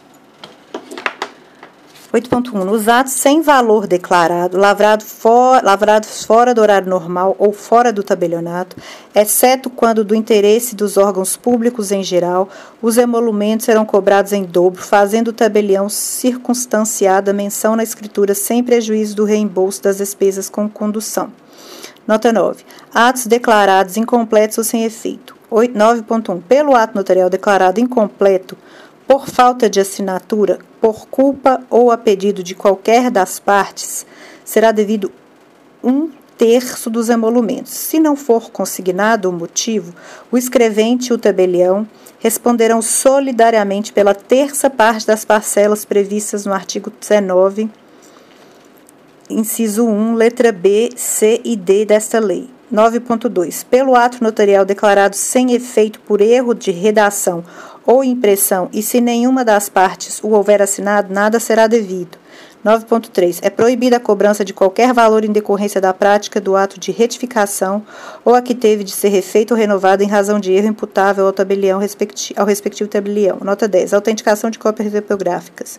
S1: 8.1. Nos atos sem valor declarado, lavrados fora do horário normal ou fora do tabelionato, exceto quando do interesse dos órgãos públicos em geral, os emolumentos serão cobrados em dobro, fazendo o tabelião circunstanciada menção na escritura sem prejuízo do reembolso das despesas com condução. Nota 9. Atos declarados incompletos ou sem efeito. 9.1. Pelo ato notarial declarado incompleto, por falta de assinatura, por culpa ou a pedido de qualquer das partes, será devido 1/3 dos emolumentos. Se não for consignado o motivo, o escrevente e o tabelião responderão solidariamente pela 1/3 parte das parcelas previstas no artigo 19, inciso 1, letra B, C e D desta lei. 9.2. Pelo ato notarial declarado sem efeito por erro de redação ou impressão, e se nenhuma das partes o houver assinado, nada será devido. 9.3. É proibida a cobrança de qualquer valor em decorrência da prática do ato de retificação ou a que teve de ser refeito ou renovado em razão de erro imputável ao tabelião ao respectivo tabelião. Nota 10. Autenticação de cópias tipográficas.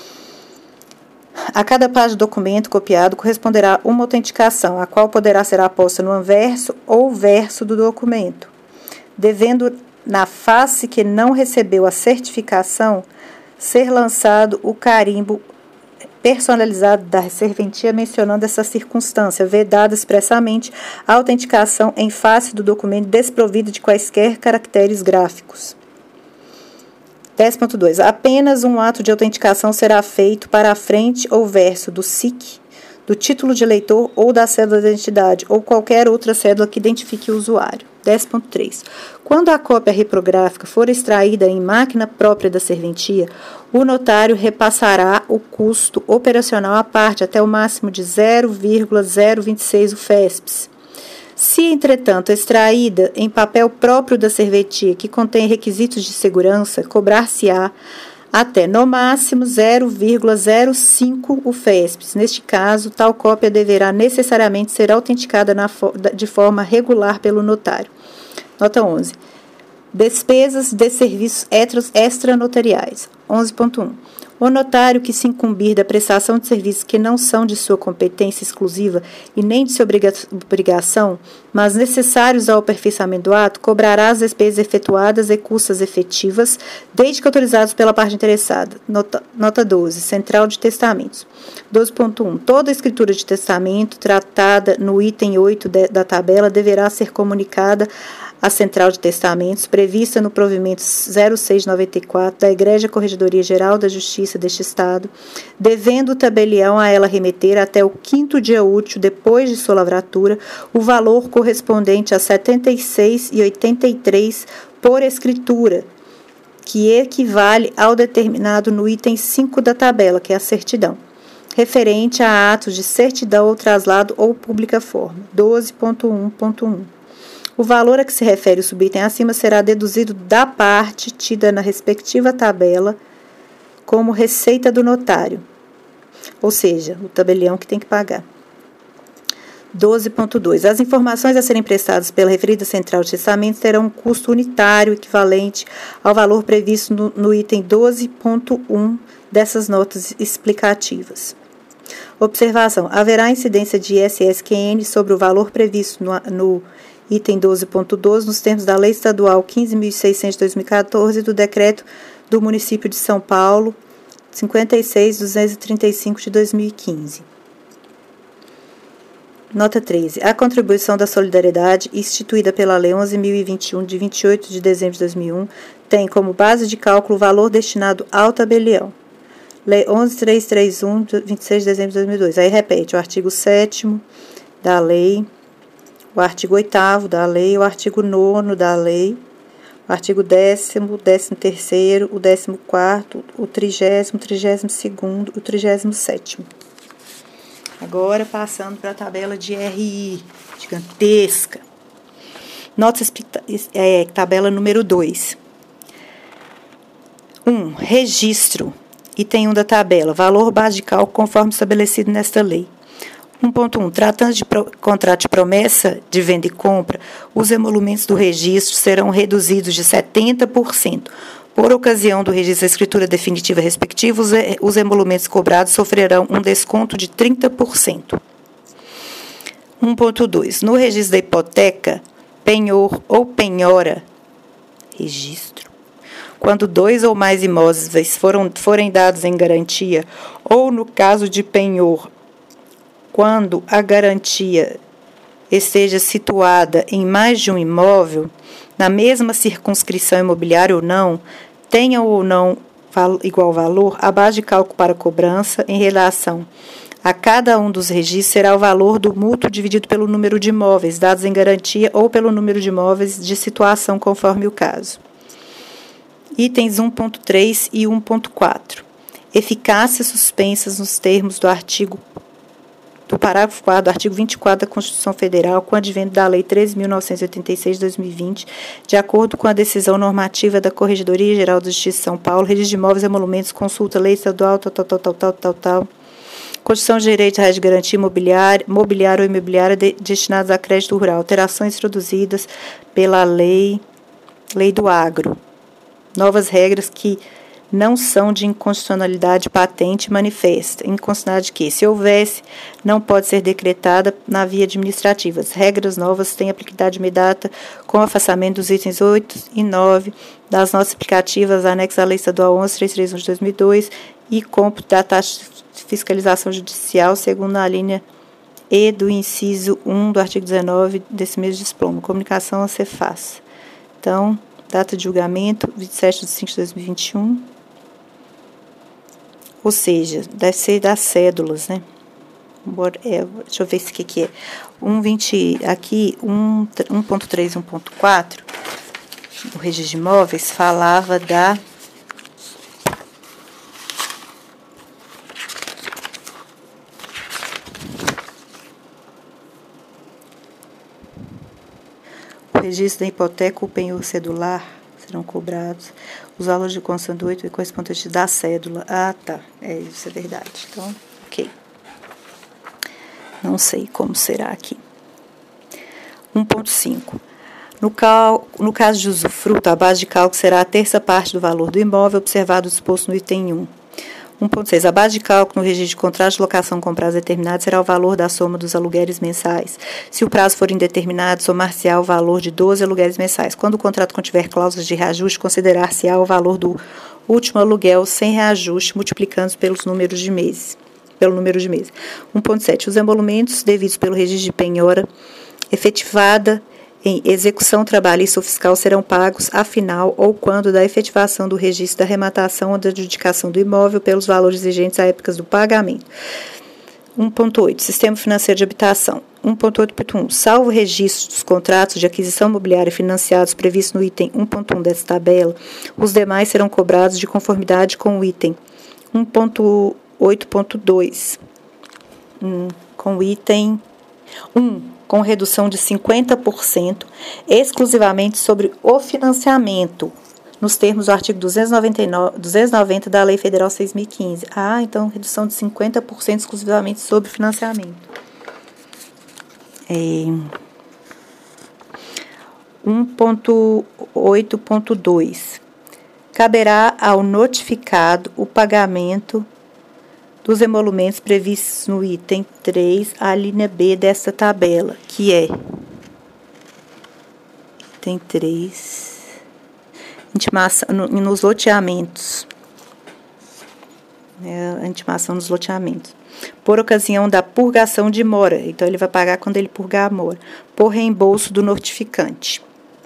S1: A cada página do documento copiado corresponderá uma autenticação, a qual poderá ser aposta no anverso ou verso do documento, devendo, na face que não recebeu a certificação, ser lançado o carimbo personalizado da serventia mencionando essa circunstância, vedada expressamente a autenticação em face do documento desprovida de quaisquer caracteres gráficos. 10.2. Apenas um ato de autenticação será feito para a frente ou verso do SIC, do título de eleitor ou da cédula de identidade, ou qualquer outra cédula que identifique o usuário. 10.3. Quando a cópia reprográfica for extraída em máquina própria da serventia, o notário repassará o custo operacional à parte até o máximo de 0,026 UFESPs. Se, entretanto, extraída em papel próprio da serventia que contém requisitos de segurança, cobrar-se-á até, no máximo, 0,05 UFESPs. Neste caso, tal cópia deverá necessariamente ser autenticada de forma regular pelo notário. Nota 11. Despesas de serviços extranotariais. 11.1. O notário que se incumbir da prestação de serviços que não são de sua competência exclusiva e nem de sua obrigação, mas necessários ao aperfeiçoamento do ato, cobrará as despesas efetuadas e custas efetivas, desde que autorizados pela parte interessada. Nota 12. Central de Testamentos. 12.1. Toda escritura de testamento tratada no item 8 da tabela deverá ser comunicada à Central de Testamentos, prevista no provimento 0694 da Igreja Corregedoria Geral da Justiça deste Estado, devendo o tabelião a ela remeter até o 5º dia útil depois de sua lavratura o valor correspondente a 76,83 por escritura, que equivale ao determinado no item 5 da tabela, que é a certidão, referente a atos de certidão ou traslado ou pública forma. 12.1.1. O valor a que se refere o subitem acima será deduzido da parte tida na respectiva tabela como receita do notário, ou seja, o tabelião que tem que pagar. 12.2. As informações a serem prestadas pela referida Central de Testamentos terão um custo unitário equivalente ao valor previsto no item 12.1 dessas notas explicativas. Observação. Haverá incidência de ISS-QN sobre o valor previsto no item 12.12, nos termos da Lei Estadual 15.600 de 2014 e do Decreto do Município de São Paulo 56.235 de 2015. Nota 13. A contribuição da solidariedade, instituída pela Lei 11.021, de 28 de dezembro de 2001, tem como base de cálculo o valor destinado ao tabelião. Lei 11.331, de 26 de dezembro de 2002. Aí repete o artigo 7º da lei, o artigo 8º da lei, o artigo 9º da lei, o artigo 10º, o 13º, o 14º, o 30º, o 32º, o 37º. Agora, passando para a tabela de RI, gigantesca. Notas, tabela número 2. 1. Registro. Item 1 da tabela. Valor base de cálculo conforme estabelecido nesta lei. 1.1. Tratando de contrato de promessa de venda e compra, os emolumentos do registro serão reduzidos de 70%. Por ocasião do registro da escritura definitiva respectiva, os emolumentos cobrados sofrerão um desconto de 30%. 1.2. No registro da hipoteca, penhor ou penhora, registro, quando 2 ou mais imóveis forem dados em garantia, ou no caso de penhor, quando a garantia esteja situada em mais de um imóvel, na mesma circunscrição imobiliária ou não, tenha ou não igual valor, a base de cálculo para cobrança em relação a cada um dos registros será o valor do mútuo dividido pelo número de imóveis dados em garantia ou pelo número de imóveis de situação conforme o caso. Itens 1.3 e 1.4. Eficácia suspensas nos termos do parágrafo 4 do artigo 24 da Constituição Federal, com o advento da Lei 13.986 de 2020, de acordo com a decisão normativa da Corregedoria Geral da Justiça de São Paulo, registro de imóveis e emolumentos, consulta, lei estadual, tal. Constituição de direito à rede de garantia mobiliária ou imobiliária destinados a crédito rural. Alterações introduzidas pela lei do agro. Novas regras que não são de inconstitucionalidade patente e manifesta. Inconstitucionalidade que, se houvesse, não pode ser decretada na via administrativa. As regras novas têm aplicabilidade imediata com o afastamento dos itens 8 e 9 das notas explicativas anexas à Lei Estadual 11.331 de 2002 e cômputo da taxa de fiscalização judicial, segundo a linha E do inciso 1 do artigo 19 desse mesmo diploma. Comunicação a Cefaz. Então, data de julgamento, 27 de 5 de 2021. Ou seja, deve ser das cédulas, né? Deixa eu ver o que é. 1.20, aqui, 1.3 e 1.4, o registro de imóveis falava da... O registro da hipoteca ou penhor cedular serão cobrados os valores de construção do 8 e correspondente da cédula. Ah, tá. Isso é verdade. Então, ok. Não sei como será aqui. 1.5. No caso de usufruto, a base de cálculo será a terça parte do valor do imóvel, observado o disposto no item 1. 1.6. A base de cálculo no registro de contrato de locação com prazo determinado será o valor da soma dos aluguéis mensais. Se o prazo for indeterminado, somar-se-á o valor de 12 aluguéis mensais. Quando o contrato contiver cláusulas de reajuste, considerar-se-á o valor do último aluguel sem reajuste, multiplicando pelo número de meses. 1.7. Os emolumentos devidos pelo registro de penhora efetivada em execução trabalhista ou fiscal serão pagos afinal ou quando da efetivação do registro da arrematação ou da adjudicação do imóvel pelos valores vigentes à época do pagamento. 1.8. Sistema financeiro de habitação. 1.8.1. Salvo o registro dos contratos de aquisição imobiliária financiados previstos no item 1.1 desta tabela, os demais serão cobrados de conformidade com o item 1.8.2. Com o item 1. Com redução de 50%, exclusivamente sobre o financiamento, nos termos do artigo 290 da Lei Federal 6.015. Então, redução de 50% exclusivamente sobre financiamento. 1.8.2. Caberá ao notificado o pagamento dos emolumentos previstos no item 3, a linha B desta tabela, que é item 3, intimação nos loteamentos, a intimação nos loteamentos, por ocasião da purgação de mora, então ele vai pagar quando ele purgar a mora, por reembolso do notificante.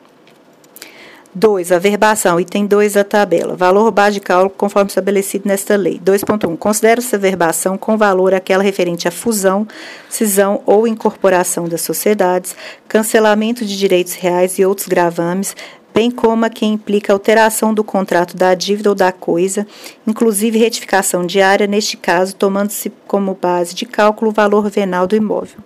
S1: 2. Averbação, item 2 da tabela. Valor base de cálculo conforme estabelecido nesta lei. 2.1. Considera-se averbação com valor aquela referente à fusão, cisão ou incorporação das sociedades, cancelamento de direitos reais e outros gravames, bem como a que implica alteração do contrato da dívida ou da coisa, inclusive retificação diária, neste caso, tomando-se como base de cálculo o valor venal do imóvel.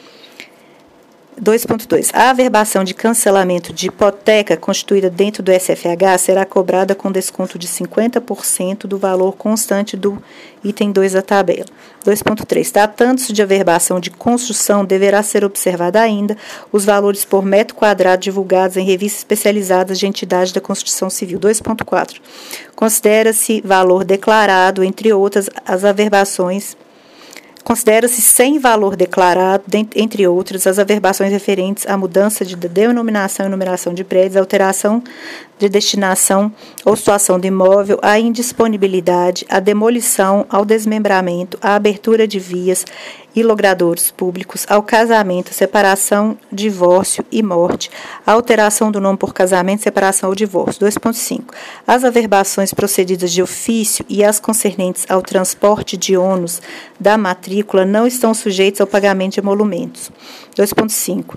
S1: 2.2. A averbação de cancelamento de hipoteca constituída dentro do SFH será cobrada com desconto de 50% do valor constante do item 2 da tabela. 2.3. Tratando-se de averbação de construção, deverá ser observada ainda os valores por metro quadrado divulgados em revistas especializadas de entidades da construção civil. 2.4. Considera-se valor declarado, entre outras, as averbações. Considera-se sem valor declarado, entre outras, as averbações referentes à mudança de denominação e numeração de prédios, alteração de destinação ou situação do imóvel, à indisponibilidade, à demolição, ao desmembramento, à abertura de vias e logradouros públicos, ao casamento, separação, divórcio e morte, à alteração do nome por casamento, separação ou divórcio. 2.5. As averbações procedidas de ofício e as concernentes ao transporte de ônus da matrícula não estão sujeitos ao pagamento de emolumentos. 2.5.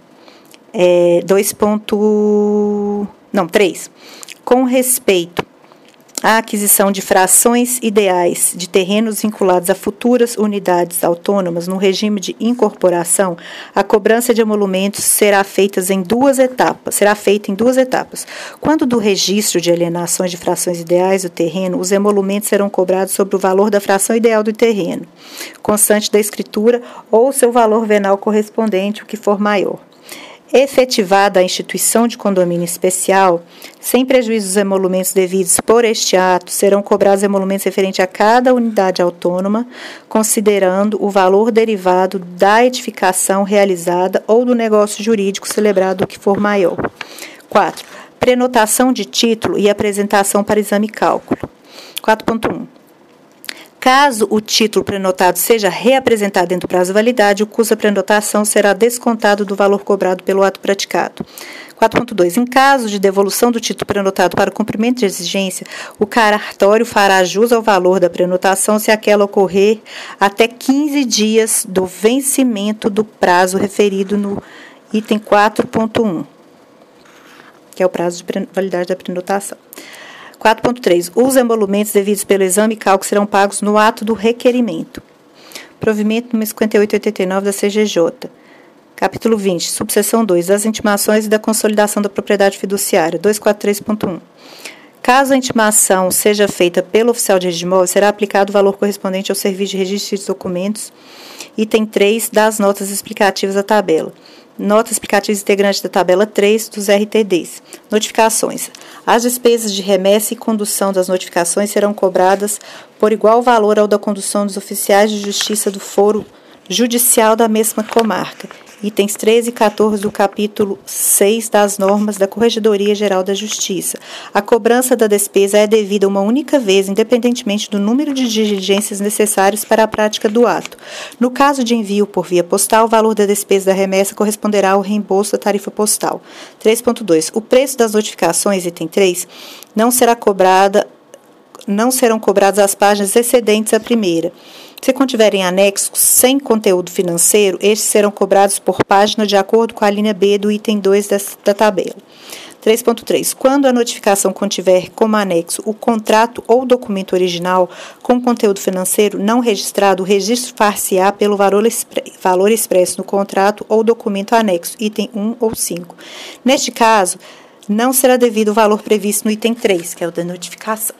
S1: 3. Com respeito à aquisição de frações ideais de terrenos vinculados a futuras unidades autônomas no regime de incorporação, a cobrança de emolumentos será feita em duas etapas. Quando do registro de alienações de frações ideais do terreno, os emolumentos serão cobrados sobre o valor da fração ideal do terreno, constante da escritura, ou seu valor venal correspondente, o que for maior. Efetivada a instituição de condomínio especial, sem prejuízo dos emolumentos devidos por este ato, serão cobrados emolumentos referentes a cada unidade autônoma, considerando o valor derivado da edificação realizada ou do negócio jurídico celebrado, o que for maior. 4. Prenotação de título e apresentação para exame e cálculo. 4.1. Caso o título prenotado seja reapresentado dentro do prazo de validade, o custo da prenotação será descontado do valor cobrado pelo ato praticado. 4.2. Em caso de devolução do título prenotado para o cumprimento de exigência, o cartório fará jus ao valor da prenotação se aquela ocorrer até 15 dias do vencimento do prazo referido no item 4.1, que é o prazo de validade da prenotação. 4.3. Os emolumentos devidos pelo exame e cálculo serão pagos no ato do requerimento. Provimento número 5889 da CGJ. Capítulo 20. Subseção 2. Das intimações e da consolidação da propriedade fiduciária. 243.1. Caso a intimação seja feita pelo oficial de registro de imóveis, será aplicado o valor correspondente ao serviço de registro de documentos, item 3 das notas explicativas da tabela. Nota explicativa integrante da tabela 3 dos RTDs. Notificações. As despesas de remessa e condução das notificações serão cobradas por igual valor ao da condução dos oficiais de justiça do foro judicial da mesma comarca. Itens 13 e 14 do capítulo 6 das normas da Corregedoria Geral da Justiça. A cobrança da despesa é devida uma única vez, independentemente do número de diligências necessárias para a prática do ato. No caso de envio por via postal, o valor da despesa da remessa corresponderá ao reembolso da tarifa postal. 3.2. O preço das notificações, item 3, não serão cobradas as páginas excedentes à primeira. Se contiverem anexos sem conteúdo financeiro, estes serão cobrados por página de acordo com a linha B do item 2 da tabela. 3.3. Quando a notificação contiver como anexo o contrato ou documento original com conteúdo financeiro não registrado, o registro far-se-á pelo valor expresso no contrato ou documento anexo, item 1 ou 5. Neste caso, não será devido o valor previsto no item 3, que é o da notificação.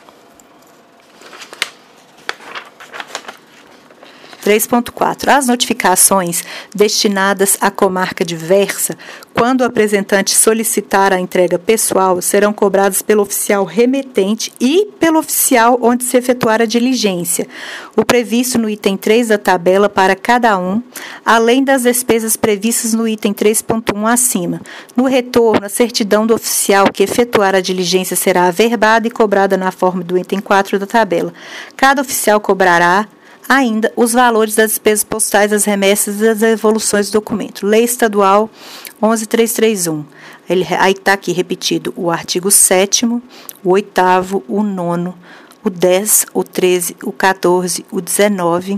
S1: 3.4. As notificações destinadas à comarca diversa, quando o apresentante solicitar a entrega pessoal, serão cobradas pelo oficial remetente e pelo oficial onde se efetuar a diligência, o previsto no item 3 da tabela para cada um, além das despesas previstas no item 3.1 acima. No retorno, a certidão do oficial que efetuar a diligência será averbada e cobrada na forma do item 4 da tabela. Cada oficial cobrará ainda os valores das despesas postais, das remessas e das devoluções do documento. Lei Estadual 11.331. Aí está aqui repetido o artigo 7º, o 8º, o 9º, o 10, o 13, o 14, o 19,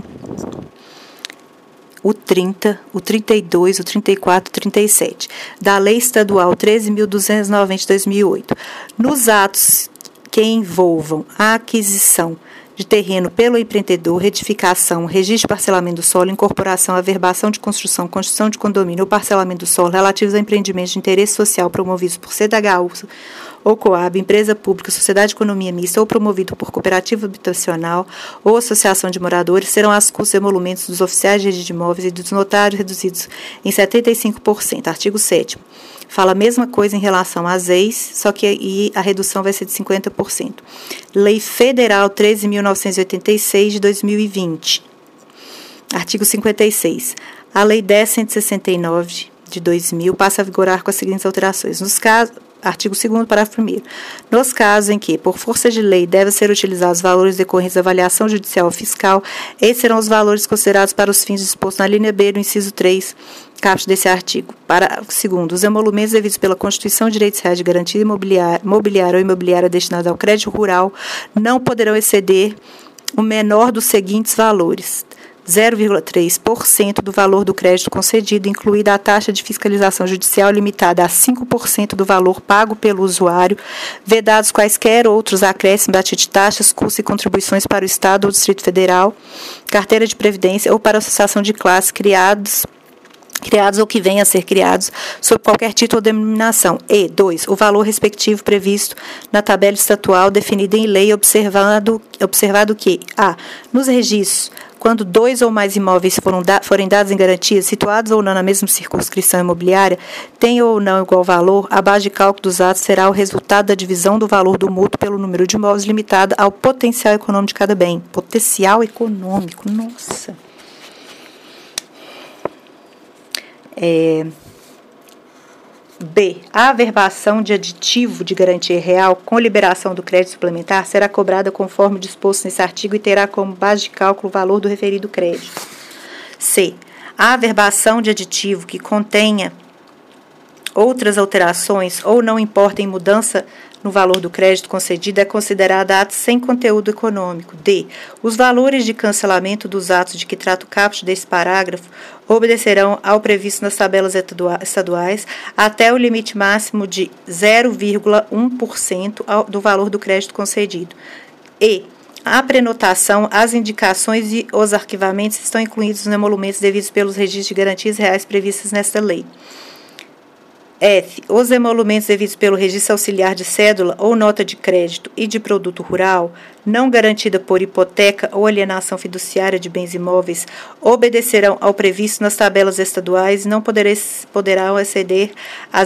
S1: o 30, o 32, o 34 e o 37. Da Lei Estadual 13.290 de 2008. Nos atos que envolvam a aquisição de terreno pelo empreendedor, retificação, registro de parcelamento do solo, incorporação, averbação de construção, construção de condomínio ou parcelamento do solo relativos a empreendimentos de interesse social promovidos por CDHU ou Coab, empresa pública, sociedade de economia mista ou promovido por cooperativa habitacional ou associação de moradores, serão as custas e emolumentos dos oficiais de registro de imóveis e dos notários reduzidos em 75%. Artigo 7º. Fala a mesma coisa em relação às ex, só que aí a redução vai ser de 50%. Lei Federal 13.986 de 2020. Artigo 56. A Lei 10.169 de 2000 passa a vigorar com as seguintes alterações. Nos casos, artigo 2º, parágrafo 1º. Nos casos em que, por força de lei, devem ser utilizados os valores decorrentes da avaliação judicial ou fiscal, esses serão os valores considerados para os fins dispostos na linha B do inciso 3, caput desse artigo. Parágrafo 2º. Os emolumentos devidos pela Constituição de Direitos Reais de Garantia Mobiliária ou Imobiliária destinados ao crédito rural não poderão exceder o menor dos seguintes valores: 0,3% do valor do crédito concedido, incluída a taxa de fiscalização judicial limitada a 5% do valor pago pelo usuário, vedados quaisquer outros acréscimos a título de taxas, custos e contribuições para o Estado ou Distrito Federal, carteira de previdência ou para a associação de classe criados ou que venham a ser criados sob qualquer título ou denominação. E 2. O valor respectivo previsto na tabela estatual definida em lei, observado que a. Nos registros, quando 2 ou mais imóveis forem dados em garantia, situados ou não na mesma circunscrição imobiliária, tem ou não igual valor, a base de cálculo dos atos será o resultado da divisão do valor do mútuo pelo número de imóveis limitada ao potencial econômico de cada bem. Potencial econômico, nossa. B. A averbação de aditivo de garantia real com liberação do crédito suplementar será cobrada conforme disposto nesse artigo e terá como base de cálculo o valor do referido crédito. C. A averbação de aditivo que contenha outras alterações ou não importa em mudança no valor do crédito concedido é considerada ato sem conteúdo econômico. D. Os valores de cancelamento dos atos de que trata o caput desse parágrafo obedecerão ao previsto nas tabelas estaduais até o limite máximo de 0,1% do valor do crédito concedido. E. A prenotação, as indicações e os arquivamentos estão incluídos nos emolumentos devidos pelos registros de garantias reais previstos nesta lei. F. Os emolumentos devidos pelo registro auxiliar de cédula ou nota de crédito e de produto rural, não garantida por hipoteca ou alienação fiduciária de bens imóveis, obedecerão ao previsto nas tabelas estaduais e não poderão exceder a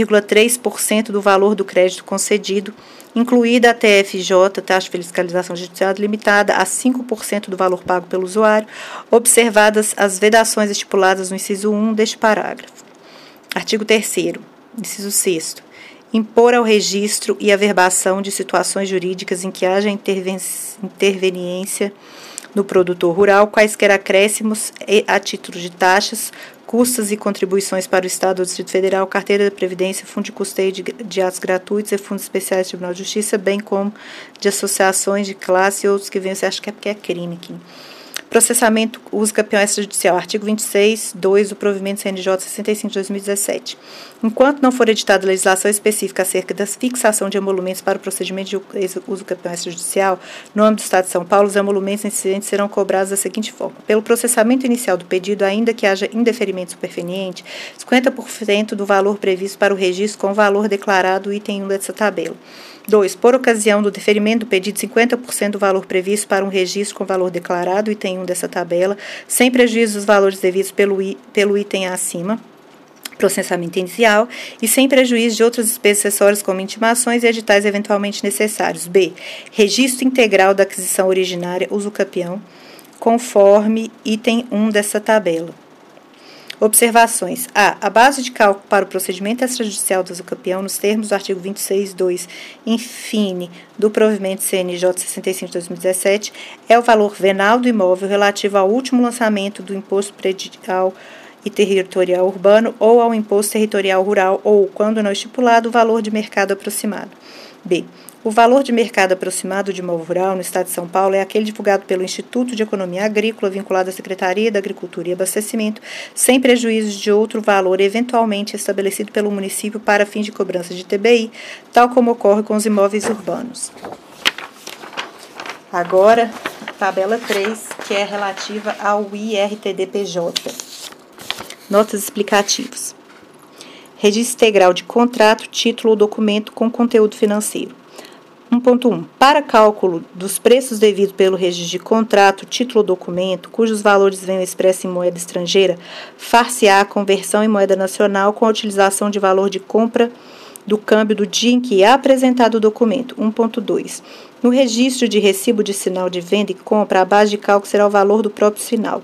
S1: 0,3% do valor do crédito concedido, incluída a TFJ, taxa de fiscalização judicial limitada, a 5% do valor pago pelo usuário, observadas as vedações estipuladas no inciso 1 deste parágrafo. Artigo 3º, inciso 6º. Impor ao registro e averbação de situações jurídicas em que haja interveniência no produtor rural, quaisquer acréscimos a título de taxas, custas e contribuições para o Estado ou Distrito Federal, carteira da Previdência, fundo de custeio de atos gratuitos e fundos especiais do Tribunal de Justiça, bem como de associações de classe e outros que venham, você acha que é crime aqui. Processamento, uso campeão extrajudicial, artigo 26, 2 do provimento CNJ 65 de 2017. Enquanto não for editada legislação específica acerca da fixação de emolumentos para o procedimento de uso campeão extrajudicial, no âmbito do Estado de São Paulo, os emolumentos incidentes serão cobrados da seguinte forma. Pelo processamento inicial do pedido, ainda que haja indeferimento superveniente, 50% do valor previsto para o registro com o valor declarado item 1 dessa tabela. 2. Por ocasião do deferimento do pedido, 50% do valor previsto para um registro com valor declarado, item 1 dessa tabela, sem prejuízo dos valores devidos pelo item acima, processamento inicial, e sem prejuízo de outras despesas acessórias como intimações e editais eventualmente necessários. B. Registro integral da aquisição originária, uso capião, conforme item 1 dessa tabela. Observações. A base de cálculo para o procedimento extrajudicial do usucapião, nos termos do artigo 26, 2, infine, do provimento CNJ 65 de 2017, é o valor venal do imóvel relativo ao último lançamento do imposto predial e territorial urbano ou ao imposto territorial rural ou, quando não estipulado, o valor de mercado aproximado. B. O valor de mercado aproximado de imóvel rural no Estado de São Paulo é aquele divulgado pelo Instituto de Economia Agrícola, vinculado à Secretaria da Agricultura e Abastecimento, sem prejuízo de outro valor eventualmente estabelecido pelo município para fins de cobrança de TBI, tal como ocorre com os imóveis urbanos. Agora, tabela 3, que é relativa ao IRTD-PJ. Notas explicativas. Registro integral de contrato, título ou documento com conteúdo financeiro. 1.1. Para cálculo dos preços devidos pelo registro de contrato, título ou documento, cujos valores venham expressos em moeda estrangeira, far-se-á a conversão em moeda nacional com a utilização de valor de compra do câmbio do dia em que é apresentado o documento. 1.2. No registro de recibo de sinal de venda e compra, a base de cálculo será o valor do próprio sinal.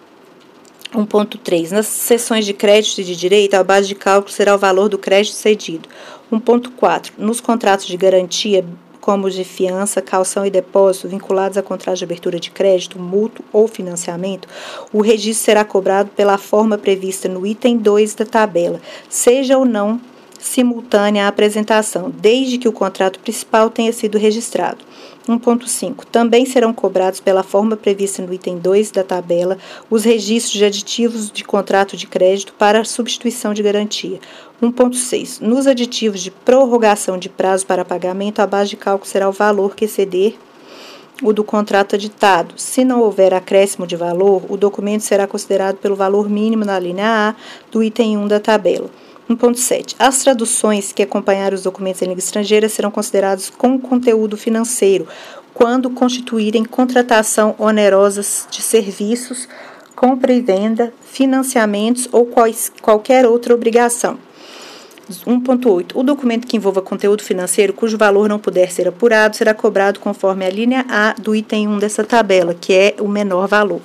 S1: 1.3. Nas seções de crédito e de direito, a base de cálculo será o valor do crédito cedido. 1.4. Nos contratos de garantia, como os de fiança, calção e depósito, vinculados a contrato de abertura de crédito, mútuo ou financiamento, o registro será cobrado pela forma prevista no item 2 da tabela, seja ou não simultânea à apresentação, desde que o contrato principal tenha sido registrado. 1.5. Também serão cobrados pela forma prevista no item 2 da tabela os registros de aditivos de contrato de crédito para substituição de garantia. 1.6. Nos aditivos de prorrogação de prazo para pagamento, a base de cálculo será o valor que exceder o do contrato aditado. Se não houver acréscimo de valor, o documento será considerado pelo valor mínimo na linha A do item 1 da tabela. 1.7. As traduções que acompanharem os documentos em língua estrangeira serão consideradas com conteúdo financeiro quando constituírem contratação onerosa de serviços, compra e venda, financiamentos ou qualquer outra obrigação. 1.8. O documento que envolva conteúdo financeiro cujo valor não puder ser apurado será cobrado conforme a linha A do item 1 dessa tabela, que é o menor valor.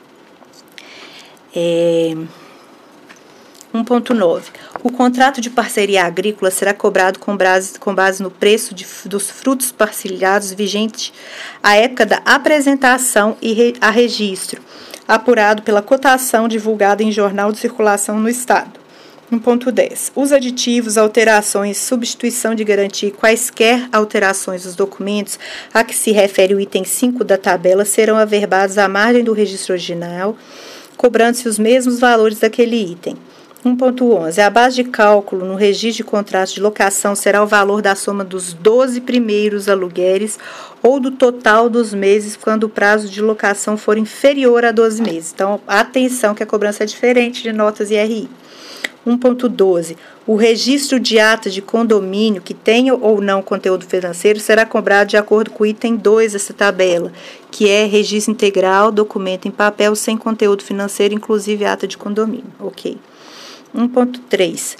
S1: 1.9. O contrato de parceria agrícola será cobrado com base no preço dos frutos parcelhados vigente à época da apresentação a registro, apurado pela cotação divulgada em jornal de circulação no Estado. 1.10. Os aditivos, alterações, substituição de garantia e quaisquer alterações dos documentos a que se refere o item 5 da tabela serão averbados à margem do registro original, cobrando-se os mesmos valores daquele item. 1.11. A base de cálculo no registro de contratos de locação será o valor da soma dos 12 primeiros aluguéis ou do total dos meses quando o prazo de locação for inferior a 12 meses. Então, atenção que a cobrança é diferente de notas e RI. 1.12. O registro de ata de condomínio que tenha ou não conteúdo financeiro será cobrado de acordo com o item 2 dessa tabela, que é registro integral, documento em papel sem conteúdo financeiro, inclusive ata de condomínio. Ok. 1.3.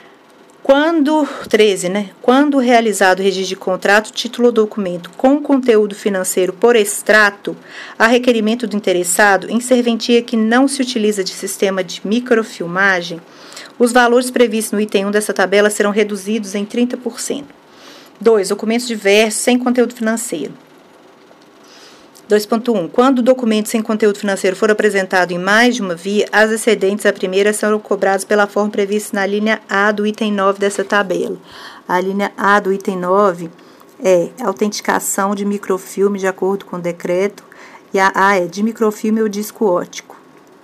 S1: Quando realizado o registro de contrato, título ou documento com conteúdo financeiro por extrato, a requerimento do interessado, em serventia que não se utiliza de sistema de microfilmagem, os valores previstos no item 1 dessa tabela serão reduzidos em 30%. 2. Documentos diversos sem conteúdo financeiro. 2.1. Quando o documento sem conteúdo financeiro for apresentado em mais de uma via, as excedentes à primeira serão cobradas pela forma prevista na linha A do item 9 dessa tabela. A linha A do item 9 é autenticação de microfilme de acordo com o decreto, e a A é de microfilme ou disco óptico.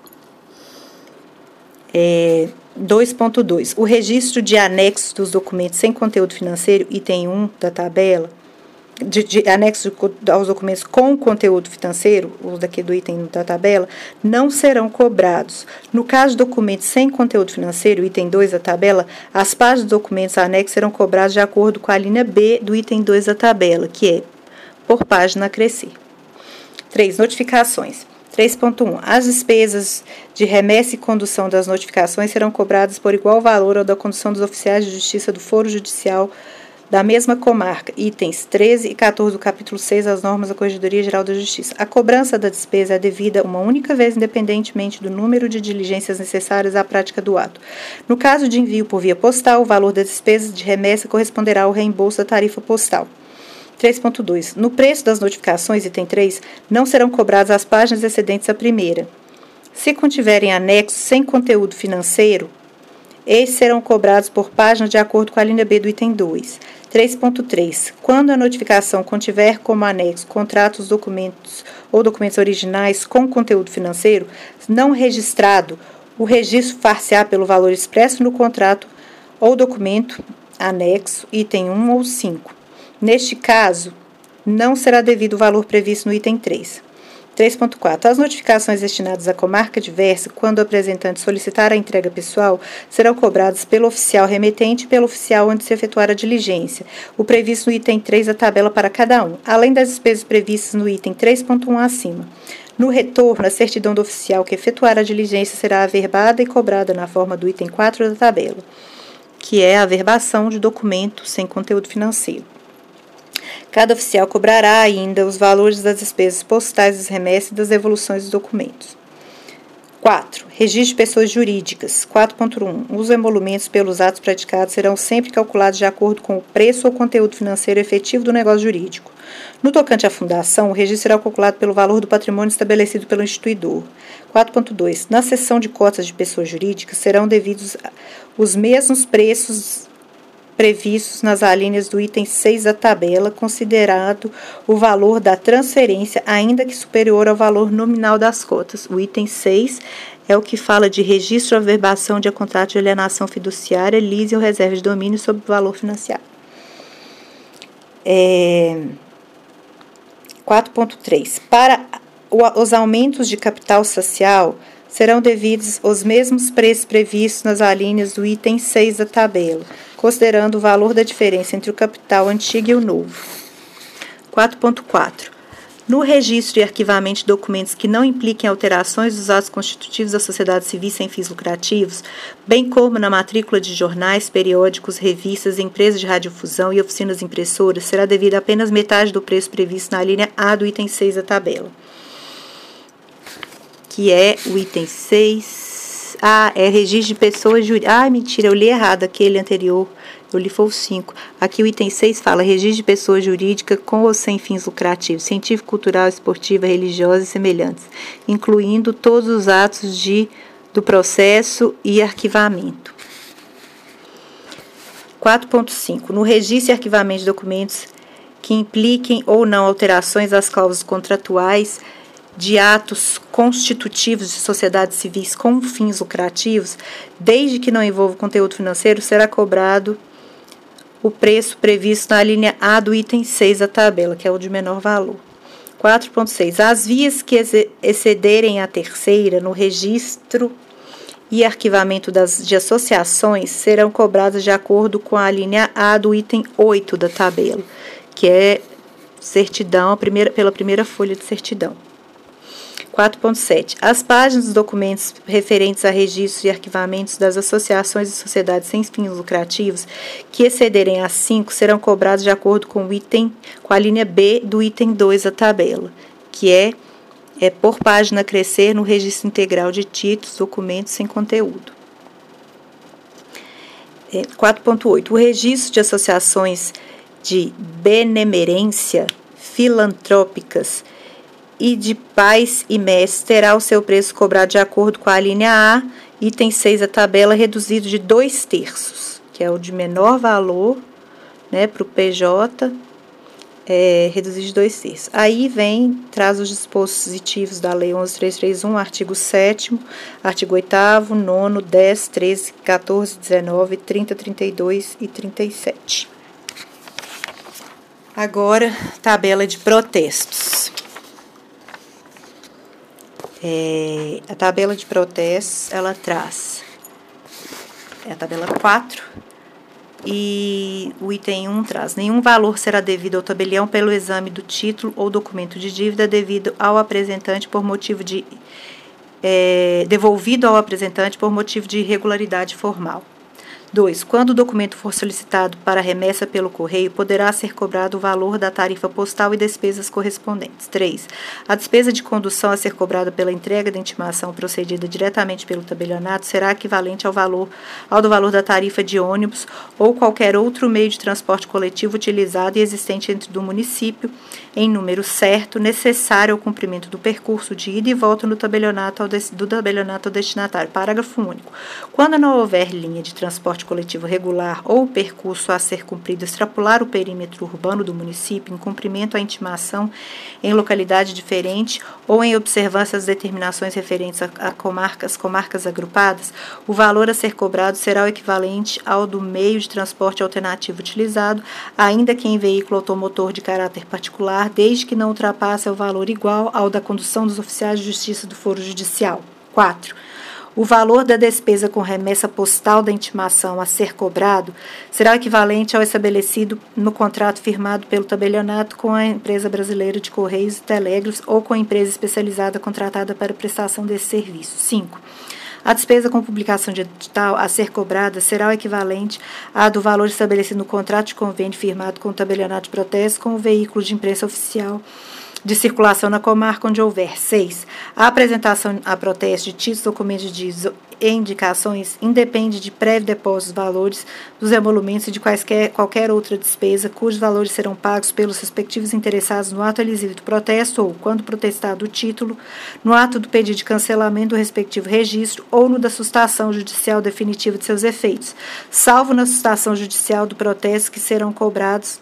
S1: 2.2. O registro de anexos dos documentos sem conteúdo financeiro, item 1 da tabela, de anexos aos documentos com conteúdo financeiro, os daqui do item da tabela, não serão cobrados. No caso de documentos sem conteúdo financeiro, item 2 da tabela, as páginas dos documentos anexos serão cobradas de acordo com a linha B do item 2 da tabela, que é por página a crescer. 3. Notificações. 3.1. As despesas de remessa e condução das notificações serão cobradas por igual valor ao da condução dos oficiais de justiça do foro judicial da mesma comarca, itens 13 e 14 do capítulo 6 das normas da Corregedoria Geral da Justiça. A cobrança da despesa é devida uma única vez, independentemente do número de diligências necessárias à prática do ato. No caso de envio por via postal, o valor das despesas de remessa corresponderá ao reembolso da tarifa postal. 3.2. No preço das notificações, item 3, não serão cobradas as páginas excedentes à primeira. Se contiverem anexos sem conteúdo financeiro, estes serão cobrados por página de acordo com a linha B do item 2. 3.3. Quando a notificação contiver como anexo contratos, documentos ou documentos originais com conteúdo financeiro não registrado, o registro far-se-á pelo valor expresso no contrato ou documento anexo, item 1 ou 5. Neste caso, não será devido o valor previsto no item 3. 3.4. As notificações destinadas à comarca diversa, quando o apresentante solicitar a entrega pessoal, serão cobradas pelo oficial remetente e pelo oficial onde se efetuar a diligência, o previsto no item 3 da tabela para cada um, além das despesas previstas no item 3.1 acima. No retorno, a certidão do oficial que efetuar a diligência será averbada e cobrada na forma do item 4 da tabela, que é a averbação de documento sem conteúdo financeiro. Cada oficial cobrará ainda os valores das despesas postais das remessas e das devoluções dos documentos. 4. Registro de pessoas jurídicas. 4.1. Os emolumentos pelos atos praticados serão sempre calculados de acordo com o preço ou conteúdo financeiro efetivo do negócio jurídico. No tocante à fundação, o registro será calculado pelo valor do patrimônio estabelecido pelo instituidor. 4.2. Na seção de cotas de pessoas jurídicas serão devidos os mesmos preços previstos nas alíneas do item 6 da tabela, considerado o valor da transferência, ainda que superior ao valor nominal das cotas. O item 6 é o que fala de registro ou averbação de contrato de alienação fiduciária, leasing ou reserva de domínio sobre o valor financiado. 4.3. Para os aumentos de capital social, serão devidos os mesmos preços previstos nas alíneas do item 6 da tabela, considerando o valor da diferença entre o capital antigo e o novo. 4.4. No registro e arquivamento de documentos que não impliquem alterações dos atos constitutivos da sociedade civil sem fins lucrativos, bem como na matrícula de jornais, periódicos, revistas, empresas de radiodifusão e oficinas impressoras, será devida apenas metade do preço previsto na linha A do item 6 da tabela, que é o item 6. É registro de pessoas jurídicas. Mentira, eu li errado aquele anterior. Eu li foi o 5. Aqui o item 6 fala registro de pessoa jurídica com ou sem fins lucrativos, científico, cultural, esportiva, religiosa e semelhantes, incluindo todos os atos do processo e arquivamento. 4.5. No registro e arquivamento de documentos que impliquem ou não alterações às cláusulas contratuais de atos constitutivos de sociedades civis com fins lucrativos, desde que não envolva conteúdo financeiro, será cobrado o preço previsto na linha A do item 6 da tabela, que é o de menor valor. 4.6. As vias que excederem a terceira no registro e arquivamento de associações serão cobradas de acordo com a linha A do item 8 da tabela, que é certidão, pela primeira folha de certidão. 4.7. As páginas dos documentos referentes a registros e arquivamentos das associações e sociedades sem fins lucrativos que excederem as 5 serão cobradas de acordo com a linha B do item 2 da tabela, que é por página crescer no registro integral de títulos, documentos sem conteúdo. 4.8. O registro de associações de benemerência filantrópicas e de pais e mestres terá o seu preço cobrado de acordo com a linha A, item 6 da tabela, reduzido de 2/3, que é o de menor valor, né, para o PJ, reduzido de 2/3. Aí traz os dispositivos da Lei 11.331, artigo 7º, artigo 8º, 9º, 10, 13, 14, 19, 30, 32 e 37. Agora, tabela de protestos. A tabela de protestos, ela traz a tabela 4 e o item 1 traz: nenhum valor será devido ao tabelião pelo exame do título ou documento de dívida devido ao apresentante por motivo de devolvido ao apresentante por motivo de irregularidade formal. 2. Quando o documento for solicitado para remessa pelo correio, poderá ser cobrado o valor da tarifa postal e despesas correspondentes. 3. A despesa de condução a ser cobrada pela entrega da intimação procedida diretamente pelo tabelionato será equivalente ao do valor da tarifa de ônibus ou qualquer outro meio de transporte coletivo utilizado e existente dentro do município, em número certo, necessário ao cumprimento do percurso de ida e volta do tabelionato ao destinatário. Parágrafo único. Quando não houver linha de transporte coletivo regular ou o percurso a ser cumprido extrapolar o perímetro urbano do município em cumprimento à intimação em localidade diferente ou em observância às determinações referentes a comarcas agrupadas, o valor a ser cobrado será o equivalente ao do meio de transporte alternativo utilizado, ainda que em veículo automotor de caráter particular, desde que não ultrapasse o valor igual ao da condução dos oficiais de justiça do foro judicial. 4. O valor da despesa com remessa postal da intimação a ser cobrado será o equivalente ao estabelecido no contrato firmado pelo tabelionato com a Empresa Brasileira de Correios e Telégrafos ou com a empresa especializada contratada para prestação desse serviço. 5. A despesa com publicação de edital a ser cobrada será o equivalente à do valor estabelecido no contrato de convênio firmado com o tabelionato de protesto com o veículo de imprensa oficial de circulação na comarca onde houver. 6. A apresentação a protesto de títulos, documentos de e indicações independe de prévio depósito dos valores dos emolumentos e de qualquer outra despesa, cujos valores serão pagos pelos respectivos interessados no ato elisivo do protesto ou, quando protestado o título, no ato do pedido de cancelamento do respectivo registro ou no da sustação judicial definitiva de seus efeitos, salvo na sustação judicial do protesto que serão cobrados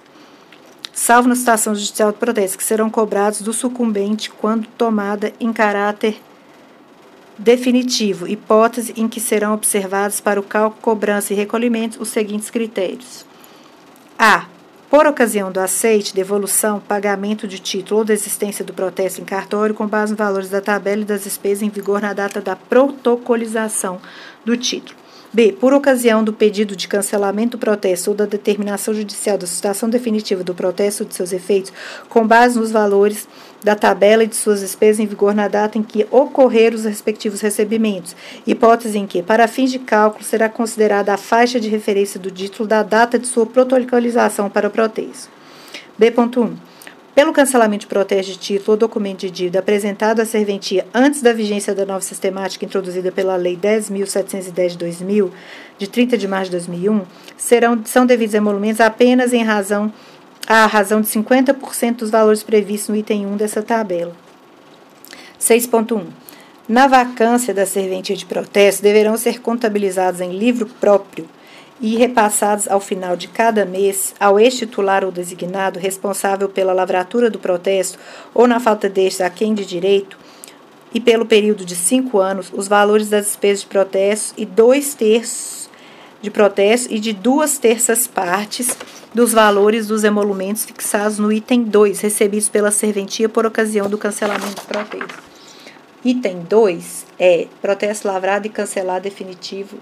S1: do sucumbente quando tomada em caráter definitivo, hipótese em que serão observados para o cálculo, cobrança e recolhimento os seguintes critérios. A. Por ocasião do aceite, devolução, pagamento de título ou desistência do protesto em cartório com base nos valores da tabela e das despesas em vigor na data da protocolização do título. B. Por ocasião do pedido de cancelamento do protesto ou da determinação judicial da sustação definitiva do protesto ou de seus efeitos, com base nos valores da tabela e de suas despesas em vigor na data em que ocorrer os respectivos recebimentos, hipótese em que, para fins de cálculo, será considerada a faixa de referência do título da data de sua protocolização para o protesto. B.1. Pelo cancelamento de protesto de título ou documento de dívida apresentado à serventia antes da vigência da nova sistemática introduzida pela Lei 10.710 de 2000, de 30 de março de 2001, são devidos emolumentos apenas à razão de 50% dos valores previstos no item 1 dessa tabela. 6.1. Na vacância da serventia de protesto, deverão ser contabilizados em livro próprio e repassados ao final de cada mês ao ex-titular ou designado responsável pela lavratura do protesto ou, na falta deste, a quem de direito, e pelo período de 5 anos, os valores das despesas de protesto e 2/3 de protesto e de 2/3 partes dos valores dos emolumentos fixados no item 2, recebidos pela serventia por ocasião do cancelamento do protesto. Item 2 é protesto lavrado e cancelado definitivo.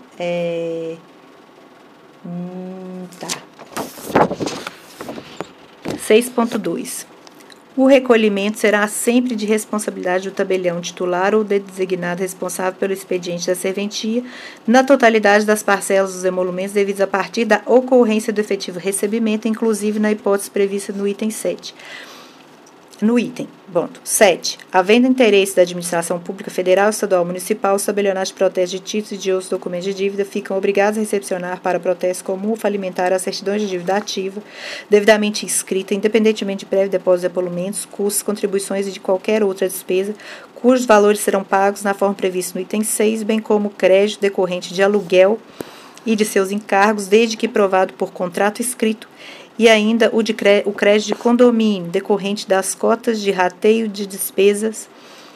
S1: Tá. 6.2. O recolhimento será sempre de responsabilidade do tabelião titular ou do designado responsável pelo expediente da serventia, na totalidade das parcelas dos emolumentos devidos a partir da ocorrência do efetivo recebimento, inclusive na hipótese prevista no item 7. No item, ponto 7. Havendo interesse da administração pública federal, estadual, municipal, os tabelionatos de protesto de títulos e de outros documentos de dívida ficam obrigados a recepcionar para protesto comum ou falimentar as certidões de dívida ativa, devidamente inscrita, independentemente de prévio depósito de emolumentos, custos, contribuições e de qualquer outra despesa, cujos valores serão pagos na forma prevista no item 6, bem como o crédito decorrente de aluguel e de seus encargos, desde que provado por contrato escrito, e ainda o crédito de condomínio, decorrente das cotas de rateio de despesas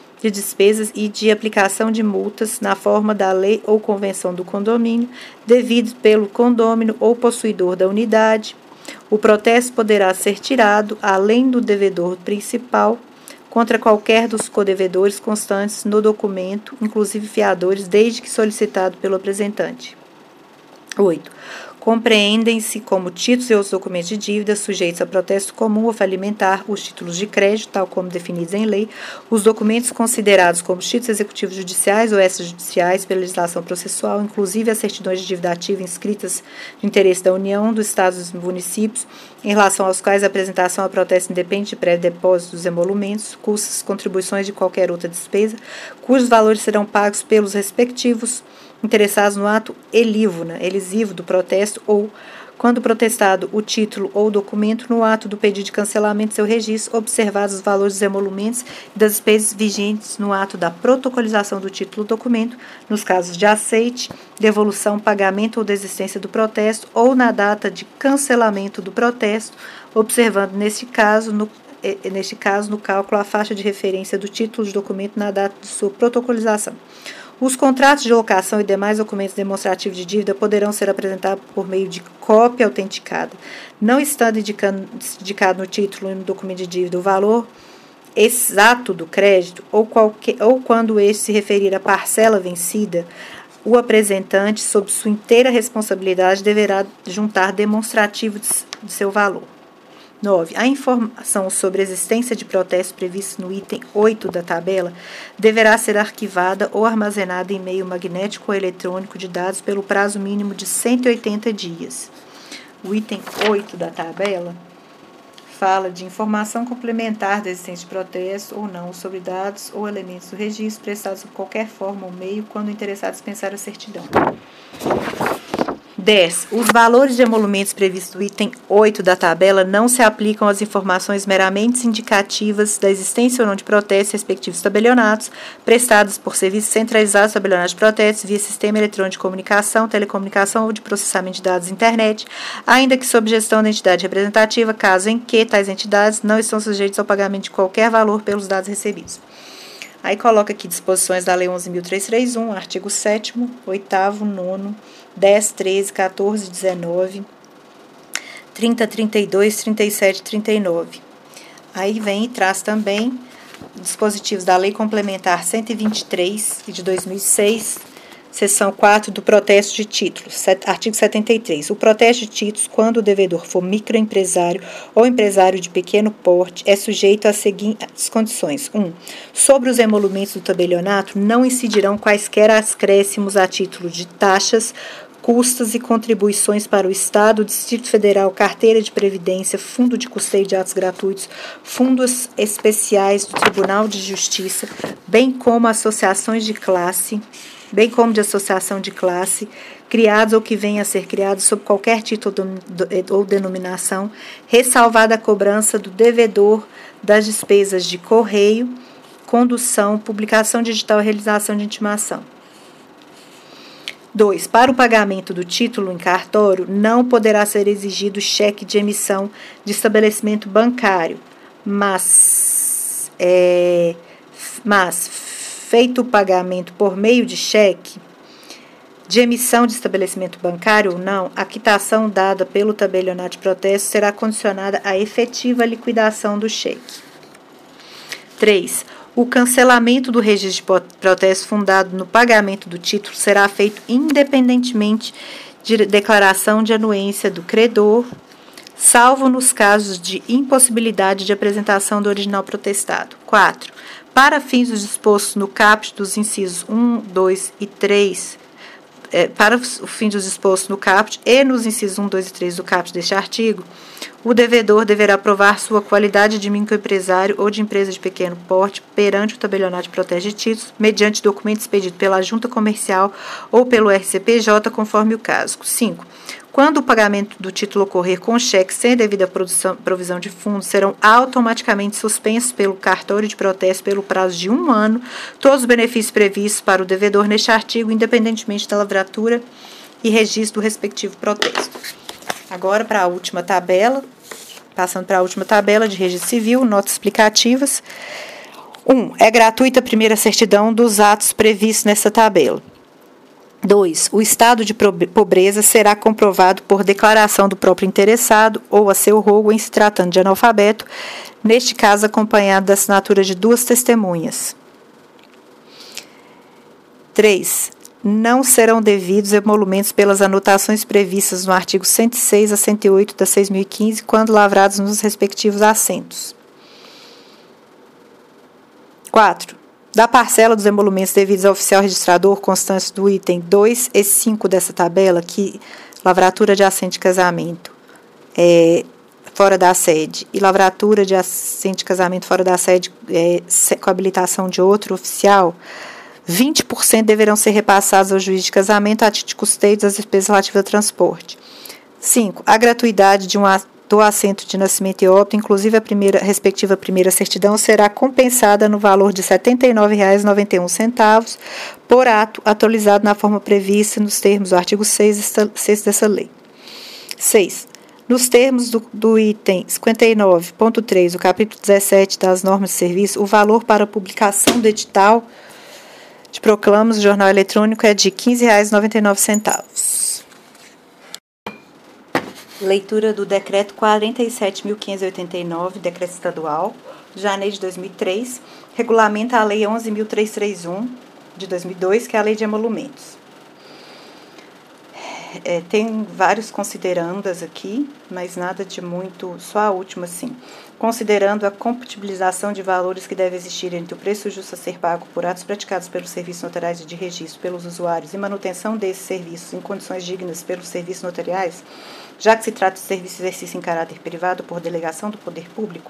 S1: e de aplicação de multas na forma da lei ou convenção do condomínio, devido pelo condômino ou possuidor da unidade. O protesto poderá ser tirado, além do devedor principal, contra qualquer dos codevedores constantes no documento, inclusive fiadores, desde que solicitado pelo apresentante. 8. Compreendem-se como títulos e outros documentos de dívida sujeitos a protesto comum ou falimentar os títulos de crédito, tal como definidos em lei, os documentos considerados como títulos executivos judiciais ou extrajudiciais pela legislação processual, inclusive as certidões de dívida ativa inscritas de interesse da União, dos Estados e dos municípios, em relação aos quais a apresentação a protesto independe de prévio depósito dos emolumentos, custos, contribuições de qualquer outra despesa, cujos valores serão pagos pelos respectivos interessados no ato elisivo do protesto ou, quando protestado o título ou documento, no ato do pedido de cancelamento de seu registro, observados os valores dos emolumentos e das despesas vigentes no ato da protocolização do título ou documento, nos casos de aceite, devolução, pagamento ou desistência do protesto, ou na data de cancelamento do protesto, observando, neste caso, no cálculo a faixa de referência do título de documento na data de sua protocolização. Os contratos de locação e demais documentos demonstrativos de dívida poderão ser apresentados por meio de cópia autenticada, não estando indicado no título e no documento de dívida o valor exato do crédito ou quando este se referir à parcela vencida, o apresentante, sob sua inteira responsabilidade, deverá juntar demonstrativo de seu valor. 9. A informação sobre a existência de protesto previsto no item 8 da tabela deverá ser arquivada ou armazenada em meio magnético ou eletrônico de dados pelo prazo mínimo de 180 dias. O item 8 da tabela fala de informação complementar da existência de protesto ou não sobre dados ou elementos do registro prestados de qualquer forma ou meio quando o interessado dispensar a certidão. 10. Os valores de emolumentos previstos no item 8 da tabela não se aplicam às informações meramente indicativas da existência ou não de protestos respectivos tabelionatos, prestados por serviços centralizados tabelionados de protestos via sistema eletrônico de comunicação, telecomunicação ou de processamento de dados internet, ainda que sob gestão da entidade representativa, caso em que tais entidades não estão sujeitas ao pagamento de qualquer valor pelos dados recebidos. Aí coloca aqui disposições da Lei 11.331, artigo 7º, 8º, 9º, 10, 13, 14, 19, 30, 32, 37 e 39. Aí vem e traz também dispositivos da Lei Complementar 123 de 2006, seção 4 do protesto de títulos, artigo 73. O protesto de títulos, quando o devedor for microempresário ou empresário de pequeno porte, é sujeito às seguintes condições. 1. Sobre os emolumentos do tabelionato não incidirão quaisquer acréscimos a título de taxas, custas e contribuições para o Estado, Distrito Federal, carteira de previdência, fundo de custeio de atos gratuitos, fundos especiais do Tribunal de Justiça, bem como associações de classe, criados ou que venham a ser criados sob qualquer título ou denominação, ressalvada a cobrança do devedor das despesas de correio, condução, publicação digital e realização de intimação. 2. Para o pagamento do título em cartório, não poderá ser exigido cheque de emissão de estabelecimento bancário, mas feito o pagamento por meio de cheque, de emissão de estabelecimento bancário ou não, a quitação dada pelo tabelionato de protesto será condicionada à efetiva liquidação do cheque. 3. O cancelamento do registro de protesto fundado no pagamento do título será feito independentemente de declaração de anuência do credor, salvo nos casos de impossibilidade de apresentação do original protestado. 4. Para fins dos dispostos no caput dos incisos 1, 2 e 3, para o fim dos dispostos no caput e nos incisos 1, 2 e 3 do caput deste artigo, o devedor deverá provar sua qualidade de microempresário ou de empresa de pequeno porte perante o tabelionato de protege de títulos, mediante documento expedido pela junta comercial ou pelo RCPJ, conforme o caso. 5. Quando o pagamento do título ocorrer com cheque sem devida provisão de fundos, serão automaticamente suspensos pelo cartório de protesto pelo prazo de 1 ano todos os benefícios previstos para o devedor neste artigo, independentemente da lavratura e registro do respectivo protesto. Agora, para a última tabela, passando para a última tabela de registro civil, notas explicativas. 1. É gratuita a primeira certidão dos atos previstos nessa tabela. 2. O estado de pobreza será comprovado por declaração do próprio interessado ou a seu rogo em se tratando de analfabeto, neste caso acompanhado da assinatura de 2 testemunhas. 3. Não serão devidos emolumentos pelas anotações previstas no artigo 106 a 108 da 6.015, quando lavrados nos respectivos assentos. 4. Da parcela dos emolumentos devidos ao oficial registrador constantes do item 2 e 5 dessa tabela, que lavratura de assento de casamento fora da sede e lavratura de assento de casamento fora da sede com habilitação de outro oficial, 20% deverão ser repassados ao juiz de casamento a título de custeio das despesas relativas ao transporte. 5. A gratuidade do assento de nascimento e óbito, inclusive a respectiva primeira certidão, será compensada no valor de R$ 79,91 por ato atualizado na forma prevista nos termos do artigo 6 dessa lei. 6. Nos termos do item 59.3 do capítulo 17 das normas de serviço, o valor para a publicação do edital de proclamas do jornal eletrônico é de R$ 15,99. Leitura do Decreto 47.589, Decreto Estadual, de janeiro de 2003, regulamenta a Lei 11.331, de 2002, que é a Lei de Emolumentos. Tem vários considerandas aqui, mas nada de muito, só a última, sim. Considerando a compatibilização de valores que deve existir entre o preço justo a ser pago por atos praticados pelos serviços notariais e de registro pelos usuários e manutenção desses serviços em condições dignas pelos serviços notariais, já que se trata de serviço exercício em caráter privado por delegação do poder público,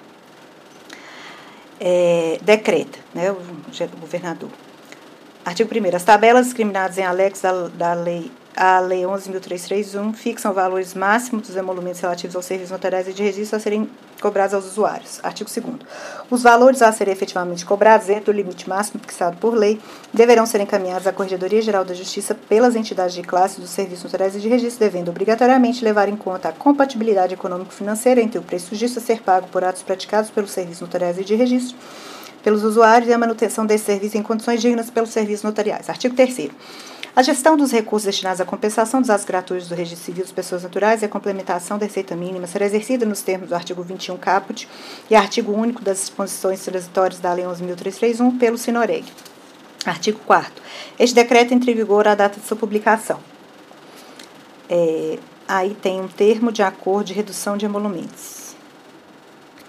S1: decreta, né, o governador. Artigo 1º. As tabelas discriminadas em anexo da Lei 11.331 fixam valores máximos dos emolumentos relativos aos serviços notariais e de registro a serem cobrados aos usuários. Artigo 2º. Os valores a serem efetivamente cobrados dentro do limite máximo fixado por lei deverão ser encaminhados à Corregedoria Geral da Justiça pelas entidades de classe dos serviços notariais e de registro, devendo obrigatoriamente levar em conta a compatibilidade econômico-financeira entre o preço justo a ser pago por atos praticados pelos serviços notariais e de registro pelos usuários e a manutenção desse serviço em condições dignas pelos serviços notariais. Artigo 3º. A gestão dos recursos destinados à compensação dos atos gratuitos do registro civil das pessoas naturais e a complementação da receita mínima será exercida nos termos do artigo 21 caput e artigo único das disposições transitórias da Lei 11.331 pelo Sinoreg. Artigo 4º. Este decreto entra em vigor à data de sua publicação. Aí tem um termo de acordo de redução de emolumentos.